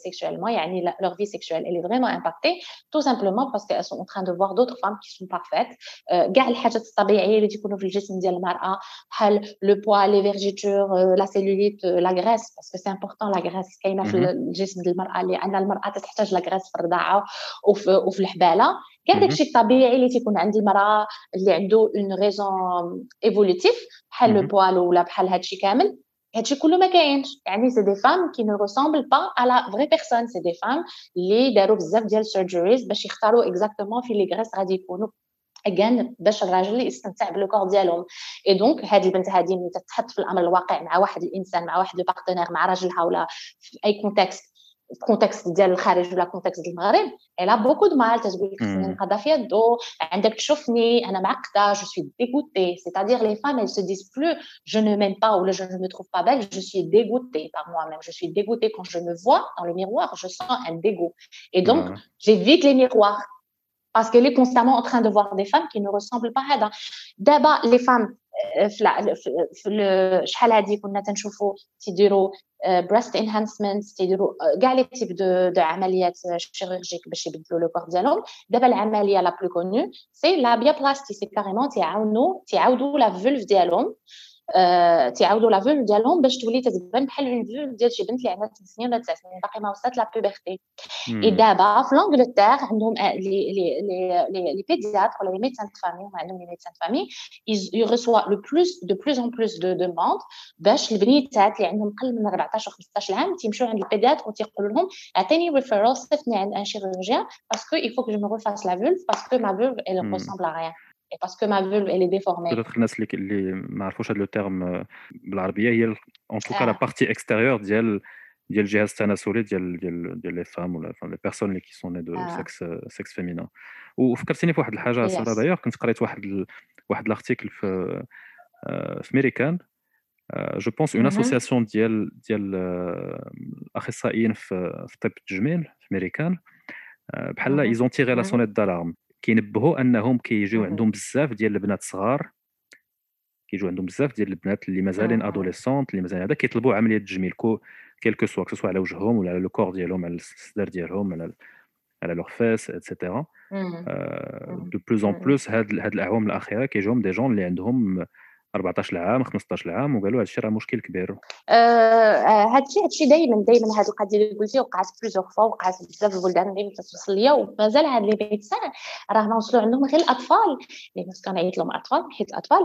sexuellement يعني leur vie sexuelle elle est vraiment impactée tout simplement parce qu'elles sont en train de voir d'autres femmes qui sont parfaites كاع الحاجات الطبيعيه اللي تيكونوا في الجسم ديال المراه بحال le poids les vergetures la cellulite la graisse parce que c'est important la graisse كاينه في الجسم ديال المراه لان المراه تحتاج لا graisse في الرضاعه وفي الحباله كاع داكشي الطبيعي اللي تيكون عند المراه اللي عنده اون ريزون ايفولوتيف بحال لو بوال ولا بحال هادشي كامل هادشي كله ما كاينش يعني سي دي فام كي نو ريسامبل با ا لا فري بيرسون سي دي فام اللي داروا بزاف ديال سيرجريز باش يختاروا اكزاكتومون في لي غريس غادي يكونوا اجان باش الراجل يستمتع بالكور ديالهم اي دونك هذه البنت هذه ملي تتحط في الامر الواقع مع واحد الانسان مع واحد لو بارتنير مع راجلها ولا في اي كونتكست ديال الخارج ولا كونتكست ديال المغرب الا بوكو دو مال تقول لك خصني نقضى فيها الضو عندك تشوفني انا معقده جو سوي dégoûtée c'est-à-dire les femmes elles se disent plus je ne m'aime pas ou je ne me trouve pas belle je suis dégoûtée par moi-même je suis dégoûtée quand je me vois dans le miroir je sens un dégoût et donc j'évite les miroirs parce qu'elle est constamment en train de voir des femmes qui ne ressemblent pas à d'abord les femmes في شحال هادي كنا تنشوفوا تيديروا breast enhancement تيديروا كاع لي تيب دو عمليات شيرورجيك باش يبدلوا لو كور ديالهم دابا العمليه لا بلو كونو سي لا بيابلاستي سي كاريمون تيعاودوا لا فولف ديالهم تيعاودوا لا فولف ديالهم باش تولي تتبان بحال اون فولف ديال شي بنت اللي عندها 8 سنين ولا 9 سنين باقي ما وصلت لا بوبرتي اي دابا في لانجلتير عندهم لي بيدياتر ولا لي ميدسان دو فامي هما عندهم لي ميدسان دو فامي يرسوا لو بلوس دو بلوس ان بلوس دو دوموند باش البنيتات اللي عندهم قل من 14 و 15 عام تيمشيو عند البيدياتر وتيقولوا لهم عطيني ريفيرال صيفطني عند ان شيروجيان باسكو il faut que je me refasse la vulve parce que ma vulve elle ressemble à rien et parce que ma vulve elle est déformée. peut-être الناس اللي ما عرفوش هذا لو تيرم بالعربيه هي en tout cas la partie extérieure ديال الجهاز التناسلي ديال لي فام ولا لي بيرسون اللي كي سون دو سكس فيمينا. وفكرتيني في واحد الحاجه ساره دايوغ كنت قريت واحد الارتيكل في ميريكان جو بونس اون اسوسياسيون ديال الاخصائيين في طب التجميل في ميريكان بحال ايزون تيغي لا سونيت دالارم كينبهوا انهم كيجيو عندهم بزاف ديال البنات صغار اللي مازالين ادوليسونت اللي مازال هذا كيطلبوا عمليه تجميل كيلكو سوا كسوا على وجههم ولا على لو كور ديالهم على الصدر ديالهم على لور فيس ايتترا دو بلوز ان بلوس هاد الاعوام الاخيره كيجيهم دي جون اللي عندهم 14 عام 15 عام وقالوا هادشي راه مشكل كبير. هادشي دائما هاد القضيه اللي قلتي وقعت بلوزيغ فوا وقعت بزاف البلدان اللي توصل ليا ومازال هاد لي ميدسان راه وصلوا عندهم غير الاطفال اللي كنعيط لهم اطفال حيت الاطفال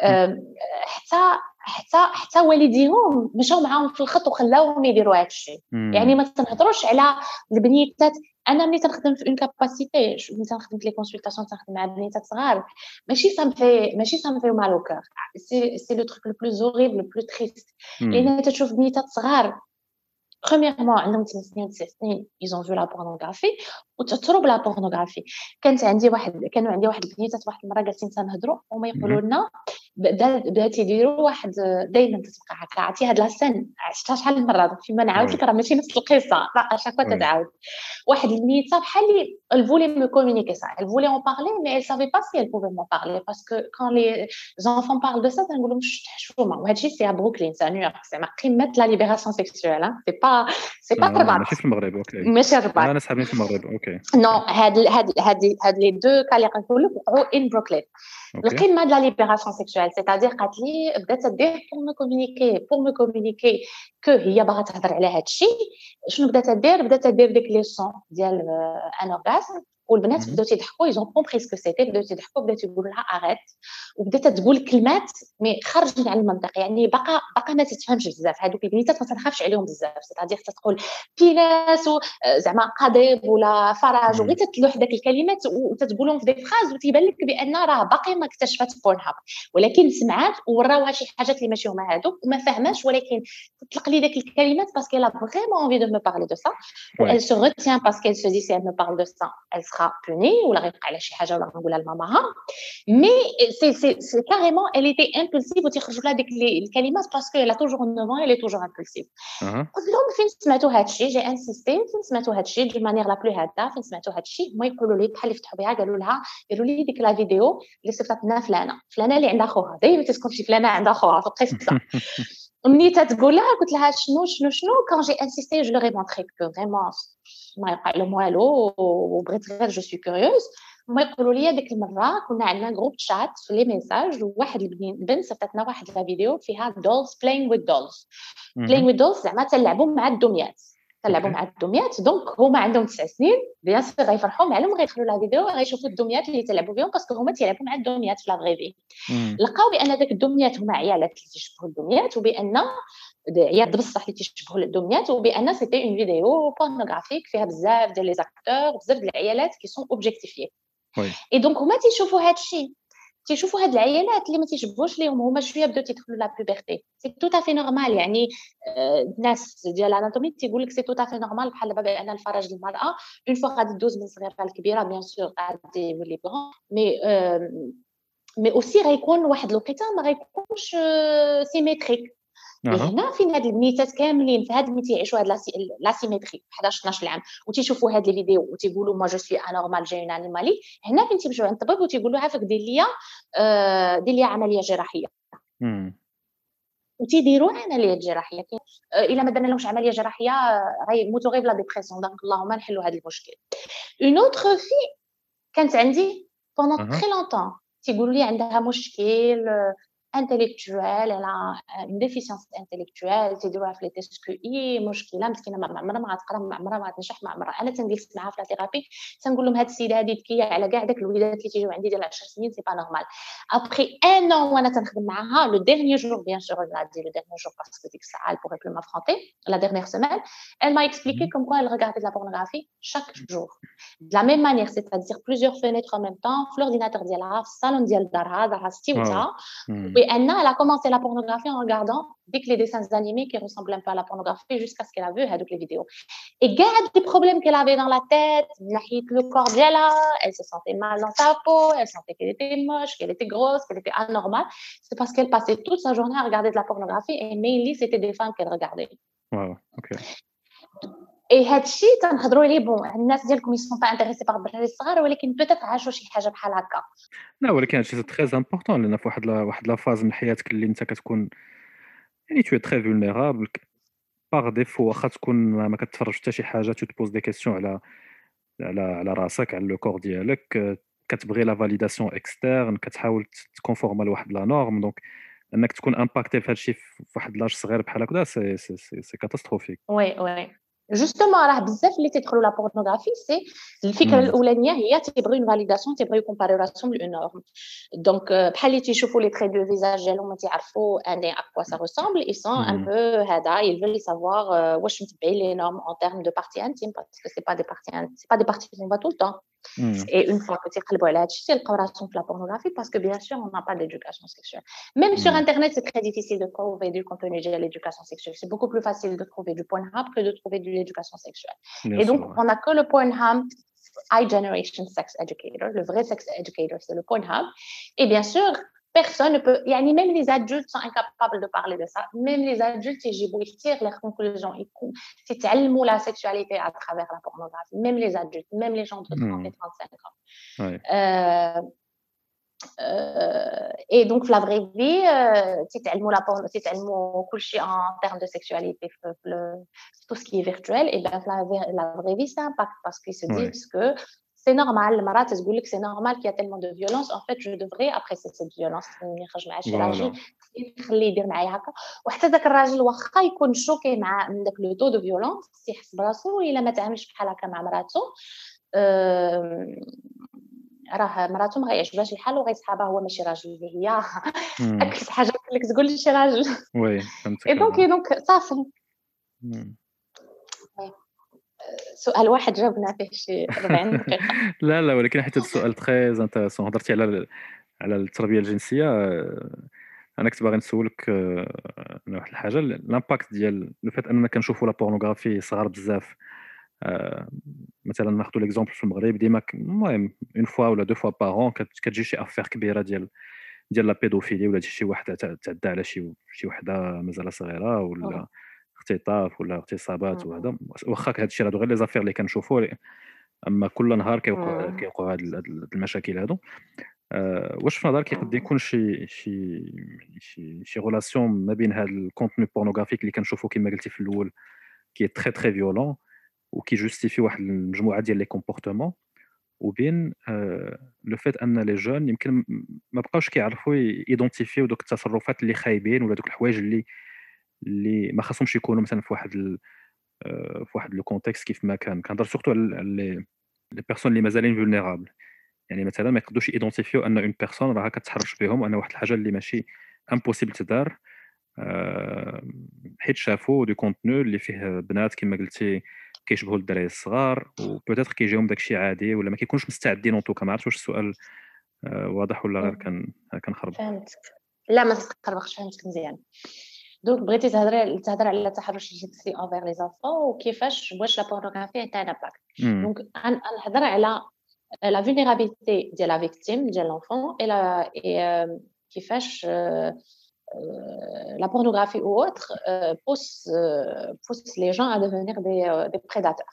حتى والديهم مشاو معاهم في الخط وخلاوهم يديروا هادشي يعني ما تنهضروش على البنيتات. انا ملي تنخدم في اون كاباسيتي ملي تنخدم في لي كونسلطاسيون تنخدم مع بنيتات صغار ماشي سامفي مال او كور سي لو تروك لو بلوز هوريبل لو بلو تريست لان تشوف بنيتات صغار premièrement عندهم 8 سنين 9 سنين ils ont vu la pornographie وتأثروا بلا بورنوغرافي. كانوا عندي واحد البنيتات واحد المره جالسين تنهضروا وما يقولوا لنا بدات يديروا واحد دائما تتبقى هكا عرفتي هاد لاسين عشتها شحال من مره فيما نعاود لك راه ماشي نفس القصه لا شاكوا تتعاود. واحد البنيته بحال اللي elle voulait me communiquer ça, elle voulait en parler mais elle savait pas si elle pouvait m'en parler parce que quand les enfants parlent de ça تنقول لهم حشومه وهادشي سي بروكلين سي نيويورك سي قمه لا ليبراسيون سيكسوال سي با الرباط ماشي في المغرب اوكي ماشي الرباط انا صحابي في المغرب اوكي نو هاد لي دو كالي نقول لك وقعوا ان بروكلين القمه de la libération sexuelle c'est-à-dire قالت لي بدات تدير pour me communiquer que هي باغا تهضر على هادشي شنو بدات تدير ديك لي سون ديال ان اورغازم والبنات بداو تيضحكوا ايزون كومبري سكو سيتي بداو تيضحكوا بداو تيقولوا لها اريت وبدات تقول كلمات مي خرجت على المنطق يعني باقا ما تتفهمش بزاف هذوك البنيتات ما تنخافش عليهم بزاف سيتادير تقول بيناس زعما قضيب ولا فراج وغير تتلوح داك الكلمات وتتقولهم في ديك فراز وتيبان لك بان راه باقي ما اكتشفت بورنهاب ولكن سمعات وراوها شي حاجات اللي ماشي هما هذوك وما فهماش ولكن تطلق لي داك الكلمات باسكو لا فريمون انفي دو مو بارلي دو سا elle se retient parce qu'elle se dit si elle me parle de ça elle sera punie ولا غيبقى على شي حاجه ولا نقولها لماماها مي سي كاريمون elle était impulsive وتيخرجوا لها ديك الكلمات باسكو elle a toujours 9 ans elle est toujours impulsive. قلت لهم فين سمعتوا هادشي جي انسيستي فين سمعتوا هادشي دي مانيير لا بلو هاده فين سمعتوا هادشي هما يقولوا لي بحال يفتحوا بها قالوا لي ديك لا فيديو اللي صيفطت لنا فلانه اللي عندها خوها دايما تسكن شي فلانه عندها خوها في القصه ومني تتقول لها قلت لها شنو كون جي انسيستي جو لوري مونطري كو فريمون ما يوقع لهم والو وبغيت غير جو سوي كوريوز. هما يقولوا لي ديك المره كنا عندنا جروب شات في لي ميساج وواحد البنت صيفطتنا واحد لا فيديو فيها دولز بلاينغ وذ دولز. بلاينغ وذ دولز زعما تلعبوا مع الدميات دونك هما عندهم 9 سنين بيان سور غيفرحوا معلوم غيدخلوا لا فيديو غيشوفوا الدميات اللي تلعبوا بهم باسكو هما تيلعبوا مع الدميات في لا فغي لقاو بان داك الدميات هما عيالات اللي تيشبهوا الدميات وبان عيال بصح اللي تيشبهوا الدميات وبان سيتي اون فيديو بورنوغرافيك فيها بزاف ديال لي زاكتور بزاف ديال العيالات كي سون اوبجيكتيفيي. اي دونك هما تيشوفوا هذا الشيء تيشوفوا هاد العيالات اللي ما تيشبهوش ليهم هما شويه بداو تيدخلوا لا بوبرتي سي تو افي نورمال يعني الناس ديال الاناتومي تيقول لك سي تو افي نورمال بحال دابا بان الفرج المراه اون فوا غادي دوز من صغيره لكبيره بيان سور غادي يولي بغون مي اوسي غيكون واحد الوقيته ما غيكونش سيميتريك. هنا فين هاد البنيتات كاملين في هاد اللي تيعيشوا هاد لاسيميتري 11 12 عام وتيشوفوا هاد الفيديو وتيقولوا ما جو سوي انورمال جاي اون انيمالي هنا فين تيمشيو عند الطبيب وتيقولوا عافاك دير ليا عمليه جراحيه وتيديروا عمليه جراحيه الا ما درنا لهمش عمليه جراحيه غيموتوا غير بلا ديبرسيون. دونك اللهم نحلوا هذا المشكل. اون اوتر في كانت عندي بوندون تري لونطون تيقولوا لي عندها مشكل intellectuelle, elle a une déficience intellectuelle تيديروها في لي تيست كو اي مشكله مسكينه ما عمرها ما غتقرا ما عمرها ما غتنجح ما عمرها. انا تنجلس معاها في لا ثيرابي تنقول لهم هاد السيده هادي ذكيه على كاع داك الوليدات اللي تيجيو عندي ديال 10 سنين سي با نورمال. ابري ان ان وانا تنخدم معاها لو ديرنيير جور بيان سور غادي لو ديرنيير جور باسكو ديك الساعه pour plus m'affronter la dernière semaine elle m'a expliqué comme quoi elle regardait de la pornographie chaque jour de la même manière c'est-à-dire plusieurs fenêtres en même temps في l'ordinateur ديالها في الصالون ديال دارها ستيوتها. Et Anna, elle a commencé la pornographie en regardant dès que les dessins animés qui ressemblent un peu à la pornographie jusqu'à ce qu'elle a vu toutes les vidéos. Et garde des problèmes qu'elle avait dans la tête, le corps d'elle, elle se sentait mal dans sa peau, elle sentait qu'elle était moche, qu'elle était grosse, qu'elle était anormale. C'est parce qu'elle passait toute sa journée à regarder de la pornographie et mainly c'était des femmes qu'elle regardait. Wow, ok. اي هادشي تنهضروا عليه بون الناس ديالكم يسون با انتريسي باغ الدراري الصغار ولكن بوتيت عاشوا شي حاجه بحال هكا. لا ولكن هادشي سي تري امبورطون لان في واحد لا فاز من حياتك اللي انت كتكون يعني تو تري فولنيرابل باغ ديفو واخا تكون ما كتفرج حتى شي حاجه تو تبوز دي كيسيون على راسك على لو كور ديالك كتبغي لا فاليداسيون اكسترن كتحاول تكونفورما لواحد لا نورم دونك انك تكون امباكتي في هادشي في واحد لاج صغير بحال هكذا سي كاتاستروفيك. وي justement راه بزاف اللي تيدخلوا لا بورنوغرافي سي الفكره الاولانيه هي تيبغيو اون فاليداسيون تيبغيو كومباريراسيون لون نورم دونك بحال اللي تيشوفوا لي تري دو فيزاج ديالهم ما تعرفوا ان ا كوا سا ريسامبل اي سون ان بو هذا يفل سافوار واش متبعين لي نورم ان تيرم دو بارتي انتيم باسكو سي با دي بارتي كون با تو الطون. Et une fois que tu as le c'est le corrélation de la pornographie parce que bien sûr on n'a pas d'éducation sexuelle. Même sur internet c'est très difficile de trouver du contenu de l'éducation sexuelle. C'est beaucoup plus facile de trouver du Pornhub que de trouver de l'éducation sexuelle. Bien et donc sûr, on n'a que le Pornhub iGeneration Sex Educator, le vrai sex educator c'est le Pornhub. Et bien sûr personne ne peut, même les adultes sont incapables de parler de ça. Même les adultes, ils tirent leurs conclusions. Ils t'allument la sexualité à travers la pornographie. Même les adultes, même les gens de 30 et 35 ans. Ouais. Et donc, la vraie vie, ils t'allument en termes de sexualité, tout ce qui est virtuel. Et bien, la vraie vie, ça impacte parce qu'ils se disent que c'est normal, المرأة تقول لك c'est normal qu'il y a tellement de violence. En fait, je devrais apprécier cette violence. نخرج مع شي راجل نخليه يدير معايا هكا وحتى ذاك الراجل واخا يكون شوكي مع من داك لو تو دو فيولونس تيحس براسو الا ما تعاملش بحال هكا مع مراته راه مراته ما غيعجبهاش الحال وغيسحابها هو ماشي راجل اللي هي اكثر حاجه لك تقول لي شي راجل. وي فهمتك. اي دونك صافي سؤال واحد جاوبنا فيه شي 40 دقيقه. لا ولكن حتى السؤال تري انتريسون هضرتي على التربيه الجنسيه. انا كنت باغي نسولك واحد الحاجه الامباكت ديال لو فات اننا كنشوفوا لا بورنوغرافي صغار بزاف. مثلا ناخذوا ليكزومبل في المغرب ديما المهم اون فوا ولا دو فوا بارون كتجي شي افير كبيره ديال لا بيدوفيلي ولا شي واحد تعدى على شي وحده مازال صغيره ولا اختطاف ولا اغتصابات وهذا واخا هذا الشيء هادو غير لي زافير اللي كنشوفوا اما كل نهار كيوقعوا هاد المشاكل هادو. واش في نظرك يقد يكون شي غولاسيون ما بين هذا الكونتوني بورنوغرافيك اللي كنشوفوا كما قلتي في الاول كي تري تري فيولون وكي جوستيفي واحد المجموعه ديال لي كومبورتمون وبين لو فيت ان لي جون يمكن ما بقاوش كيعرفوا ايدونتيفيو دوك التصرفات اللي خايبين ولا دوك الحوايج اللي ما خاصهمش يكونوا مثلا في واحد لو كونتكست كيف ما كنهضر سورتو على لي بيرسون اللي مازالين فولنيرابل. يعني مثلا ما يقدروش ايدونتيفيو ان اون بيرسون راها كتحرش بهم ان واحد الحاجه اللي ماشي امبوسيبل تدار حيت شافوا دو كونتوني اللي فيه بنات كما قلتي كيشبهوا الدراري الصغار وبوتيتر كيجيهم داكشي عادي ولا ما كيكونوش مستعدين اون توكا. ما عرفتش واش السؤال واضح ولا غير كنخرب. فهمتك. لا ما تخربقش، فهمتك مزيان. دونك بغيتي تهضر على التحرش الجنسي اوفر لي زانفون وكيفاش واش لا بورنوغرافي انت امباكت. دونك نهضر على la vulnérabilité de la victime, de l'enfant, et كيفاش la pornographie ou autre pousse les gens à devenir des prédateurs.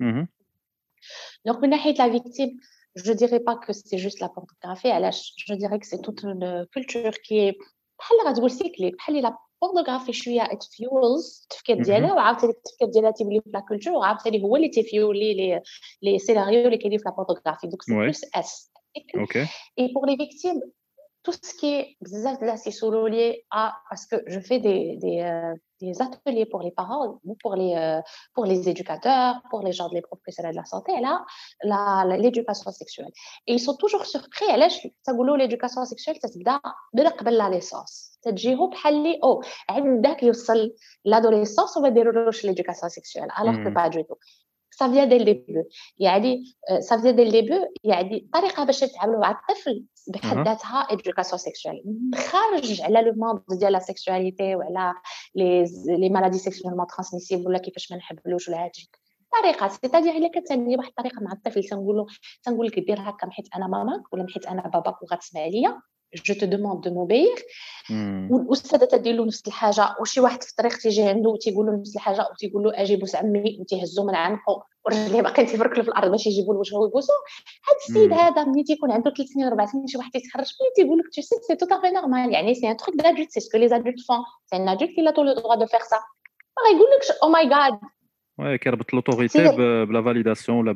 Donc, من ناحية la victime, je dirais pas que c'est juste la pornographie, je dirais que c'est toute une culture qui est بحال غتقول سيكليك، بحال la pornographie شويه it fuels التفكير ديالها وعاوتاني التفكير ديالها تيولي في la culture وعاوتاني هو اللي تيفيولي لي سيناريو اللي كاينين في la pornographie. Donc c'est plus esthétique. OK. Et pour les victimes, tout ce qui est بزاف de la c'est lié à parce que je fais des ateliers pour les parents ou pour les éducateurs, pour les gens les professionnels de la santé là l'éducation sexuelle. Et ils sont toujours surpris علاش تقولوا l'éducation sexuelle تتبدا من قبل la naissance. تجيهم بحال لي عندك يوصل l'adolescence وما ديرولوش l'éducation sexuelle alors que pas du tout. Ça vient dès le début. يعني ça vient dès le début يعني طريقه باش تتعاملوا مع الطفل بحد ذاتها education sexuelle خارج على لو موند ديال لا سيكسواليتي وعلى لي مالادي سيكسوالمون ترانسميسيبل ولا كيفاش ما نحبلوش ولا هادشي طريقه سيتادير الا كتعني واحد الطريقه مع الطفل تنقول لك دير هكا حيت انا ماماك ولا حيت انا باباك وغتسمع ليا جو te demande de m'obéir. والاستاذه تدير له نفس الحاجه وشي واحد في الطريق تيجي عنده وتيقول له نفس الحاجه وتيقول له اجي بوس عمي وتيهزو من عنقه ورجليه باقيين تيفركلوا في الارض باش يجيبوا له وجهه ويبوسو. هذا السيد هذا ملي تيكون عنده 3 سنين 4 سنين شي واحد تيتخرج ملي تيقول لك tu sais c'est tout à fait normal يعني c'est un truc d'adulte c'est ce que les adultes font c'est un adulte qui a tout le droit de faire ça. ما يقولكش oh my god وي كيربط لوتوريتي بلا فاليداسيون ولا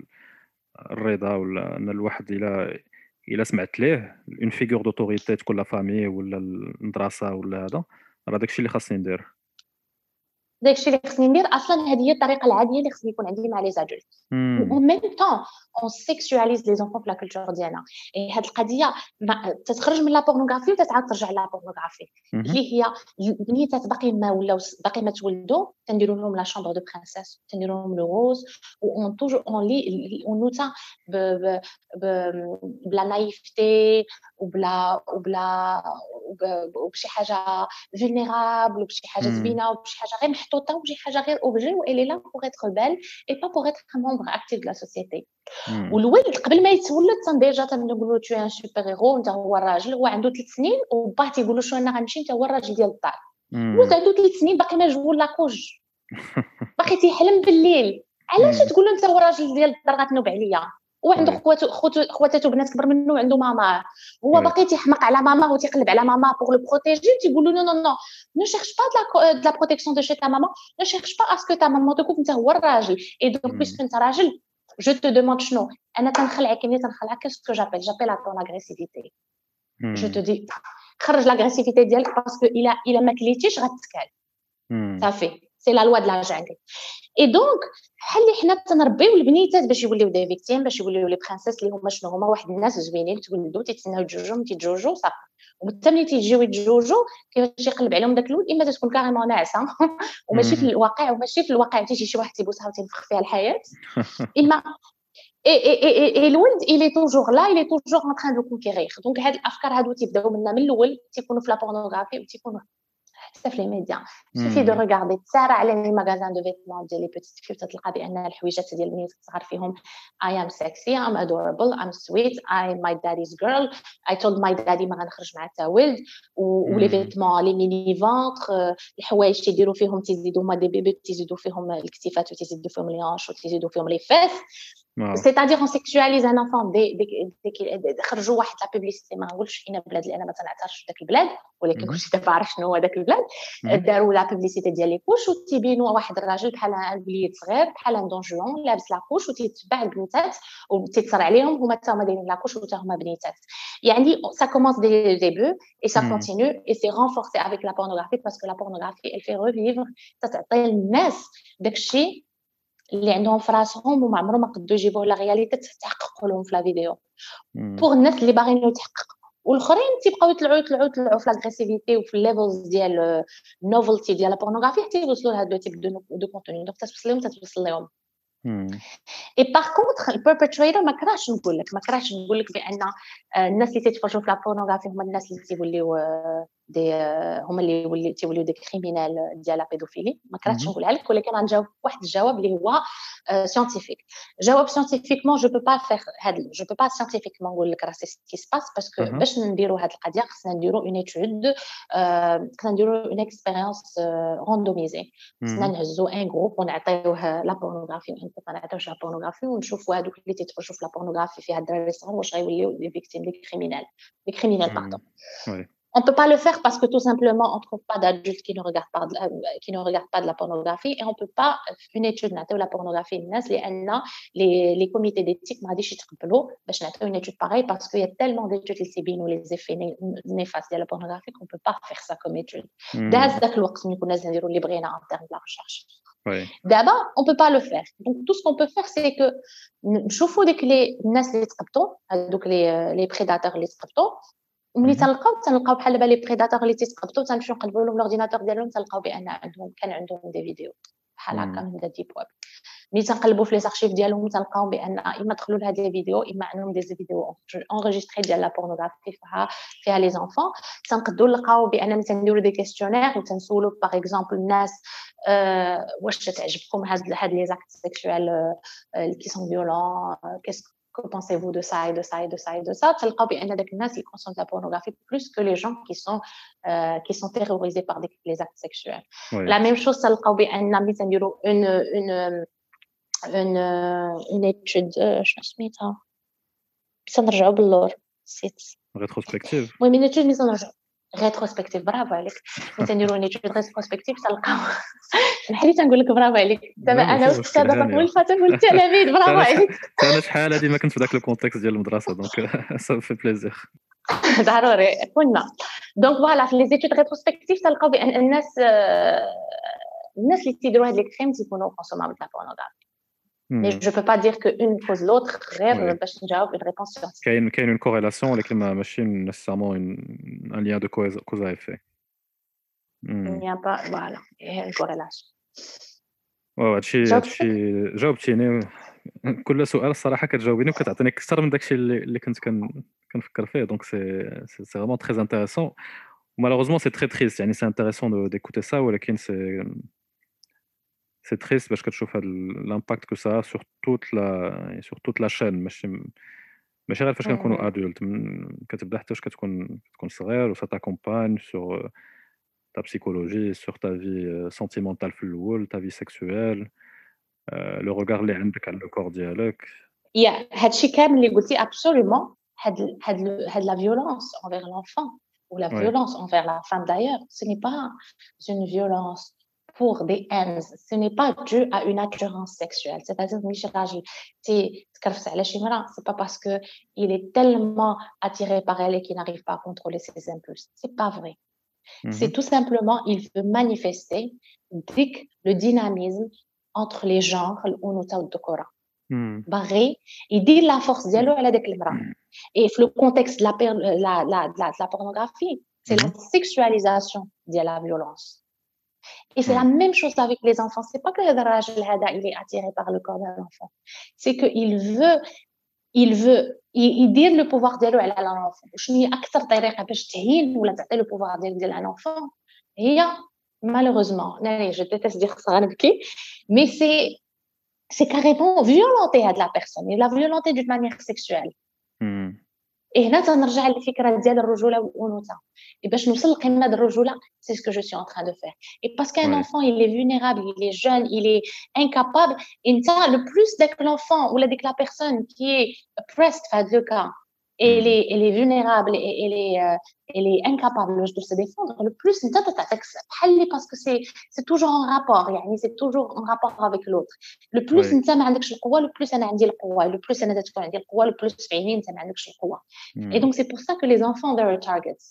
بالرضا ولا ان الواحد الا سمعت ليه اون فيغور دوتوريتي تكون لا فامي ولا المدرسه ولا هذا راه داكشي اللي خاصني ندير. داكشي اللي خصني ندير اصلا هذه هي الطريقه العاديه اللي خصني يكون عندي مع لي زادولت. و ميم طون اون سيكسواليز لي زونفون في لا كولتور ديالنا. هاد القضيه تتخرج من لا بورنوغرافي وتتعاود ترجع لا بورنوغرافي اللي هي البنيتات باقي ما ولاو باقي ما تولدوا تنديروا لهم لا شامبر دو برانسيس تنديروا لهم لو روز اون توجور اون لي اون نوتا بلا نايفتي وبشي حاجه فولنيرابل وبشي حاجه زوينه وبشي حاجه غير محطوطه وبشي حاجه غير اوبجي و elle est là pour être belle et pas pour être un membre actif de la société. والولد قبل ما يتولد ديجا تنقولوا تو ان سوبر هيرو انت هو الراجل هو عنده 3 سنين وباه تيقولوا شو انا غنمشي انت هو الراجل ديال الدار. ولد عنده 3 سنين باقي ما جول لاكوج باقي تيحلم بالليل. علاش تقولوا انت هو الراجل ديال الدار غتنوب عليا وعنده خواتاتو بنات كبر منه وعنده ماما هو باقي تيحمق على ماما وتيقلب على ماما بور لو بروتيجي تيقولوا نو نو نو ne cherche pas de la protection de chez ta maman ne cherche pas à ce que ta maman تكون انت هو الراجل et donc puisque انت راجل je te demande شنو انا تنخلعك qu'est-ce que j'appelle à ton agressivité. je te dis خرج لاغريسيفيتي ديالك باسكو الا ما كليتيش غتسكال صافي سي لا لوا د لا جانغل. اي دونك بحال اللي حنا تنربيو البنيتات باش يوليو دي فيكتيم باش يوليو لي برانسيس اللي هما شنو هما واحد الناس زوينين تولدوا تيتسناو يتزوجوا صافي ومتى ملي تيجيو يتزوجوا كيفاش يقلب عليهم داك الولد اما تكون كاريمون ناعسه وماشي في الواقع تيجي شي واحد تيبوسها وتنفخ فيها الحياه اما اي الولد il est toujours là il est toujours en train de conquérir. دونك هاد الافكار هادو تيبداو منا من الاول تيكونوا في لا بورنوغرافي وتيكونوا حتى في لي ميديا. suffit de regarder تسارع على لي ماغازان دو فيتمون ديال لي بيتيت فيو تلقى بان الحويجات ديال البنات الصغار فيهم I am sexy I'm adorable I'm sweet I'm my daddy's girl I told my daddy ما غنخرج مع حتى ولد ولي فيتمون لي ميني فونتر الحوايج تيديروا فيهم تيزيدوا هما دي بيبي تيزيدوا فيهم الكتيفات وتيزيدوا فيهم لي هانش وتيزيدوا فيهم لي فيس c'est-à-dire on sexualise un enfant dès qu'il خرجوا واحد لا بوبليسيتي ما نقولش فينا بلاد اللي انا ما تنعترفش داك البلاد ولكن كلشي دابا عارف شنو هو داك البلاد داروا لا بوبليسيتي ديال لي كوش وتيبينوا واحد الراجل بحال ان وليد صغير بحال ان دونجون لابس لا كوش وتيتبع البنيتات وتيتصر عليهم هما حتى هما دايرين لا كوش وتا هما بنيتات يعني ça commence dès le début et ça continue et c'est renforcé avec la pornographie parce que la pornographie elle fait revivre تعطي الناس داكشي اللي عندهم في راسهم وما عمرهم ما قدروا يجيبوه لا رياليتي تحققوا لهم في لا فيديو بوغ الناس اللي باغيين يتحققوا والاخرين تيبقاو يطلعوا في لاغريسيفيتي وفي الليفلز ديال النوفلتي ديال لا بورنوغرافي حتى يوصلوا لهاد لو تيب دو كونتوني دونك توصل لهم اي باغ كونطخ البيربيتريتور ما كراهش نقول لك بان الناس اللي تيتفرجوا في لا بورنوغرافي هما الناس اللي تيوليو دي هما اللي تيوليو دي كريمينال ديال لا بيدوفيلي ما كرهتش نقولها لك ولكن غنجاوب واحد الجواب اللي هو سيانتيفيك جواب سيانتيفيكمون جو بو با فير هاد جو بو با سيانتيفيكمون نقول لك راه سي سكي سباس باسكو باش نديروا هاد القضيه خصنا نديروا اون ايتود خصنا نديروا اون اكسبيريونس روندوميزي خصنا نهزوا ان جروب ونعطيوه لا بورنوغرافي ما نعطيوش لا بورنوغرافي ونشوفوا هادوك اللي تيتفرجوا في لا بورنوغرافي في هاد الدراري الصغار واش غيوليو لي فيكتيم لي كريمينال باردون On ne peut pas le faire parce que tout simplement, on ne trouve pas d'adultes qui ne regardent pas de la pornographie et on ne peut pas une étude de la pornographie. Les comités d'éthique m'ont dit que je une étude pareille parce qu'il y a tellement d'études qui ou les effets néfastes de la pornographie qu'on ne peut pas faire ça comme étude. D'abord, en termes de la recherche. D'abord, on ne peut pas le faire. Donc, tout ce qu'on peut faire, c'est que les prédateurs, les وملي تلقاو بحال دابا لي بريداتور اللي تيتقبطوا تنمشيو نقلبوا لهم الاورديناتور ديالهم تلقاو بان كان عندهم دي فيديو بحال هكا من ديب ويب ملي تنقلبوا في لي زارشيف ديالهم تلقاو بان اما دخلوا لهاد لي فيديو اما عندهم دي فيديو انغيستري ديال لا بورنوغرافي فيها لي زونفون تنقدروا نلقاو بان تنديروا دي كيستيونير وتنسولوا باغ اكزومبل الناس واش تعجبكم هاد لي زاكت سيكسوال كي سون فيولون que pensez-vous de ça et de ça et de ça et de ça تلقاو بان داك الناس اللي consomment la pornographie plus que les gens qui sont terrorisés par les actes sexuels la même chose تلقاو بان ملي تنديروا une étude شنو سميتها تنرجعوا باللور نسيت rétrospective المهم une étude تنرجعوا rétrospective برافو عليك ملي نديروا une étude rétrospective تلقاو نحلي تنقول لك برافو عليك دابا انا واستاذه طفل فاتن والتلاميذ برافو عليك انا شحال هذه ما كنت في ذاك الكونتكست ديال المدرسه دونك سا في بليزير ضروري كنا دونك فوالا في لي زيتود ريتروسبكتيف تلقاو بان الناس اللي تيديروا هاد لي كريم تيكونوا كونسومابل د لا بورنوغرافي mais je peux pas dire que une cause l'autre غير باش نجاوب une réponse scientifique كاين une corrélation ولكن ماشي nécessairement un lien de cause à effet il n'y a pas voilà une corrélation هادشي جاوبتيني كل سؤال الصراحه كتجاوبيني وكتعطيني اكثر من داكشي اللي كنت كنفكر فيه دونك سي فريمون تري انتريسون malheureusement c'est très triste يعني c'est intéressant d'écouter ça ولكن c'est triste باش كتشوف هاد l'impact que ça a sur toute la chaîne ماشي غير فاش كنكونوا ادولت كتبدا حتى واش كتكون صغير و ça t'accompagne sur ta psychologie sur ta vie sentimentale في الاول ta vie sexuelle le regard اللي عندك على الكور ديالك هادشي كامل اللي قلتي absolument هاد la violence envers l'enfant ou la violence envers la femme d'ailleurs ce n'est pas une violence pour des haines ce n'est pas dû à une attirance sexuelle c'est-à-dire ماشي راجل تكرفس على شي مرأة c'est pas parce que il est tellement attiré par elle et qu'il n'arrive pas à contrôler ses impulses c'est pas vrai c'est tout simplement il veut manifester le dynamisme entre les genres الأنوثة والذكورة باغي يدير la force ديالو على داك المرأة et في le contexte de la pornographie c'est la sexualisation de la violence et c'est la même chose avec les enfants c'est pas que le راجل هذا il est attiré par le corps de l'enfant c'est que il veut يدير le pouvoir ديالو على l'enfant شنو هي اكثر طريقه باش تهين ولا تعطي le pouvoir ديال un enfant هي malheureusement je déteste dire ça غنبكي mais c'est carrément violenter la personne et la violenter d'une manière sexuelle هنا تنرجع للفكره ديال الرجوله والانوثه باش نوصل لقمه الرجوله. سي سكو جو سوي ان تران دو فير اي باسكو ان enfant il est vulnérable, il est jeune, il est incapable. انت le plus داك l'enfant ولا ديك la personne qui est oppressed في هذا لو كا elle est vulnérable et elle est incapable de se défendre, le plus انت تعطيك بحال parce que c'est toujours en rapport, يعني c'est toujours en rapport avec l'autre. le plus انت ما عندكش القوه, le plus انا عندي القوه, le plus انا تكون عندي القوه, le plus في عيني انت ما عندكش القوه. et donc c'est pour ça que les enfants they are targets.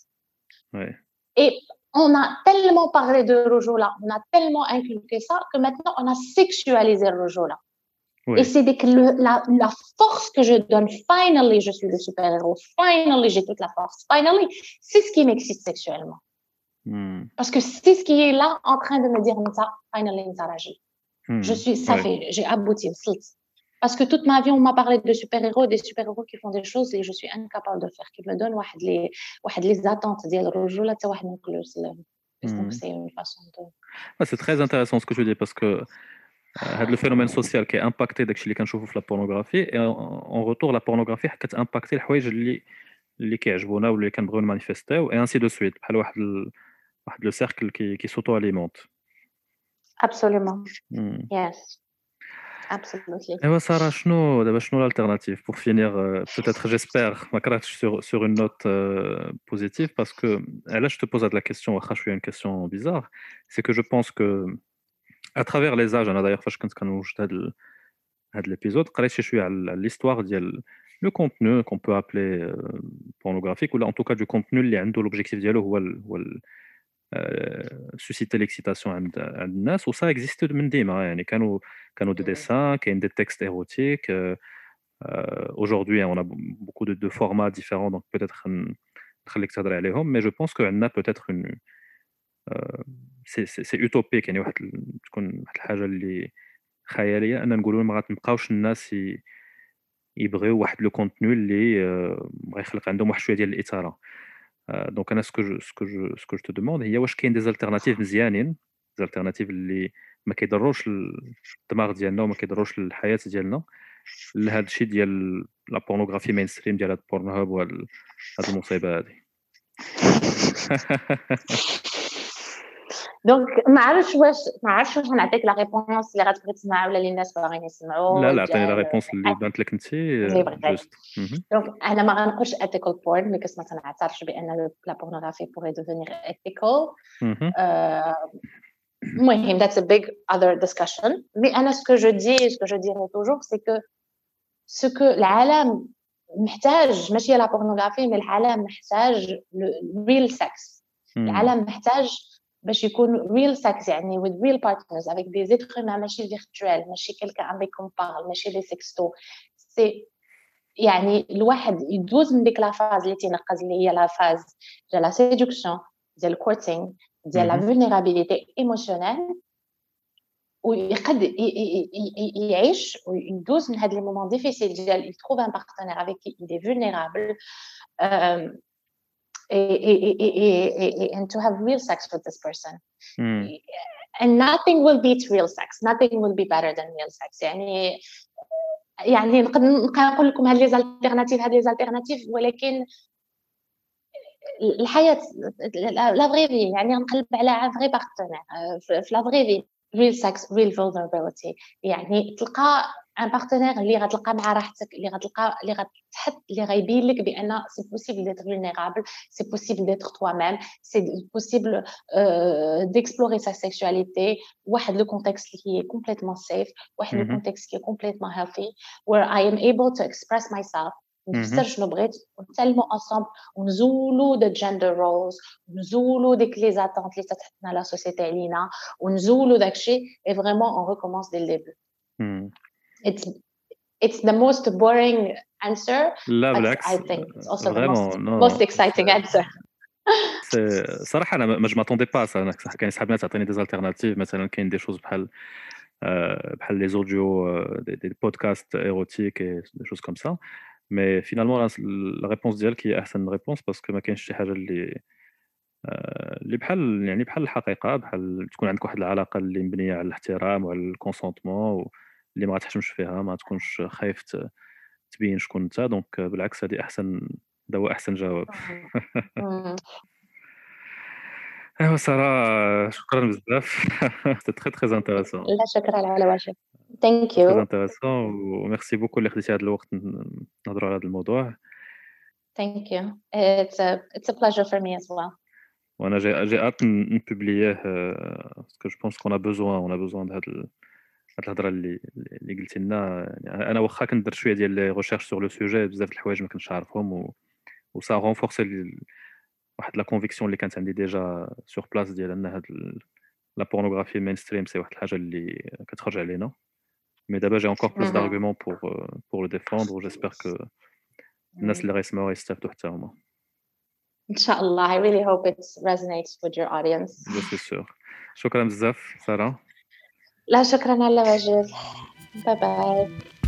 et on a tellement parlé de rujula, on a tellement inculqué ça que maintenant on a sexualisé le rujula. Et c'est dès que la force que je donne, finally, je suis le super-héros, finally, j'ai toute la force, finally, c'est ce qui m'excite sexuellement. Parce que c'est ce qui est là en train de me dire, finally, je suis, ça fait, j'ai abouti, parce que toute ma vie, on m'a parlé de super-héros, des super-héros qui font des choses et je suis incapable de faire, qui me donnent les attentes, dire le rejou, là, donc c'est une façon de... C'est très intéressant ce que je dis, parce que le phénomène social qui est impacté داكشي اللي كنشوفوا في la pornographie, et en retour la pornographie كتimpacter الحوايج اللي كيعجبونا واللي كنبغيو نمانيفيستيو, et ainsi de suite, بحال واحد le cercle qui s'auto-alimente. Absolument. Yes. Absolutely. Et Sarah, شنو l'alternative pour finir, peut-être, j'espère, ما كرهتش sur une note positive, parce que là je te pose la question, واخا شويه une question bizarre, c'est que je pense que à travers les âges, انا d'ailleurs فاش كنت كنوجد هاد l'épisode قريت شي شويه على l'histoire ديال le contenu qu'on peut appeler pornographique, ou en tout cas du contenu اللي عنده l'objectif ديالو هو susciter l'excitation عند الناس, و ça existe من ديما, يعني كانوا des dessins, كاين des textes érotiques. Aujourd'hui on a beaucoup de formats différents, donc peut-être نخليك تهضري عليهم, mais je pense que عندنا peut-être une c'est utopique, يعني تكون واحد الحاجه اللي خياليه ان نقولوا ما غتبقاوش الناس يبغيو واحد لو كونتوني اللي غيخلق عندهم واحد شويه ديال الاثاره. دونك انا سكو جو تو دوموند هي واش كاين دي زالتيرناتيف مزيانين, زالتيرناتيف اللي ما كيضروش الدماغ ديالنا وما كيضروش الحياه ديالنا لهذا الشيء ديال لا بورنوغرافي مين ستريم ديال هاد بورن هاب وهاد المصيبه هذه. دونك ما عرفتش واش نعطيك لا ريبونس اللي غتبغي تسمعها ولا اللي الناس باغيين يسمعوا. لا عطيني لا ريبونس اللي بانت لك انت جوست. دونك انا ما غنقولش ethical porn ملي ما تنعترفش بان لا بورنوغرافي pourrait devenir ethical. المهم that's a big other discussion. mais انا ce que je dirais toujours c'est que ce que العالم محتاج ماشي لا بورنوغرافي, mais العالم محتاج real sex. العالم محتاج باش يكون real sex, يعني with real partners avec des êtres humains, ماشي virtuel, ماشي quelqu'un avec qui on parle, ماشي les sextos. c'est يعني الواحد يدوز من ديك لا فاز اللي تينقز اللي هي لا فاز ديال لا séduction, ديال courting, ديال la vulnérabilité émotionnelle, ويقد يعيش ويدوز من هاد لي مومون ديفيسيل ديال يتروف ان بارتنير avec qui il est vulnérable, and to have real sex with this person. And nothing will beat real sex, nothing will be better than real sex. يعني نقدر نقول لكم هاد لي زالتيرناتيف, ولكن الحياه لا فري في, يعني نقلب على ان فري بارتنير في لا فري في, real sex, real vulnerability. يعني تلقى ان بارتنير اللي غتلقى مع راحتك, اللي غتحط اللي غيبين لك بان سي بوسيبل ديتر vulnérable, سي بوسيبل ديتر toi-même, سي بوسيبل d'explorer sa sexualité, واحد لو كونتكست اللي هي complètement safe, واحد لو كونتكست اللي هي complètement healthy, where I am able to express myself, نفسر شنو بغيت, ونتعلموا انصامبل ونزولوا د جندر رولز, ونزولوا ديك لي زاتونت اللي تتحطنا لا سوسيتي علينا, ونزولوا داكشي, et vraiment on recommence dès le début. It's the most boring answer, but I think it's also the most exciting answer. صراحه انا ما m'attendais pas ça. انا كاين صحابي تعطيني دي زالتيرناتيف, مثلا كاين دي شوز بحال لي زوديو, دي بودكاست ايروتيك et des choses comme ça. mais finalement la réponse ديالك هي احسن ريبونس, باسكو ما كاينش شي حاجه اللي بحال يعني بحال الحقيقه, بحال تكون عندك واحد العلاقه اللي مبنيه على الاحترام وعلى الكونسونطمون, اللي ما تحشمش فيها, ما تكونش خايف تبين شكون انت. دونك بالعكس هذه احسن هذا هو احسن جواب. مم. ايوا ساره شكرا بزاف. سي تري تري انتريسون لا شكرا على واجب. ثانك تري يو. انتريسون وميرسي بوكو اللي خديتي هذا الوقت نهضروا على هذا الموضوع. ثانك يو. It's a pleasure for me as well. وانا جي هâte نبوبلييه باسكو جو بونس كون اون ا بوزوان د هاد الهضره اللي قلتي لنا. يعني انا واخا كندير شويه ديال لي ريشيرش سور لو سوجي بزاف د الحوايج ما كنتش عارفهم و سا رونفورسي واحد لا كونفيكسيون اللي كانت عندي ديجا سور بلاص ديال ان هاد لا بورنوغرافي مين ستريم سي واحد الحاجه اللي كتخرج علينا. مي دابا جي encore plus d'arguments pour le défendre و j'espère que الناس اللي غيسمعوها يستافدوا حتى هما. إن شاء الله. I really hope it resonates with your audience. Je suis sûr. شكرا بزاف ساره. لا شكرا على واجب. باي باي.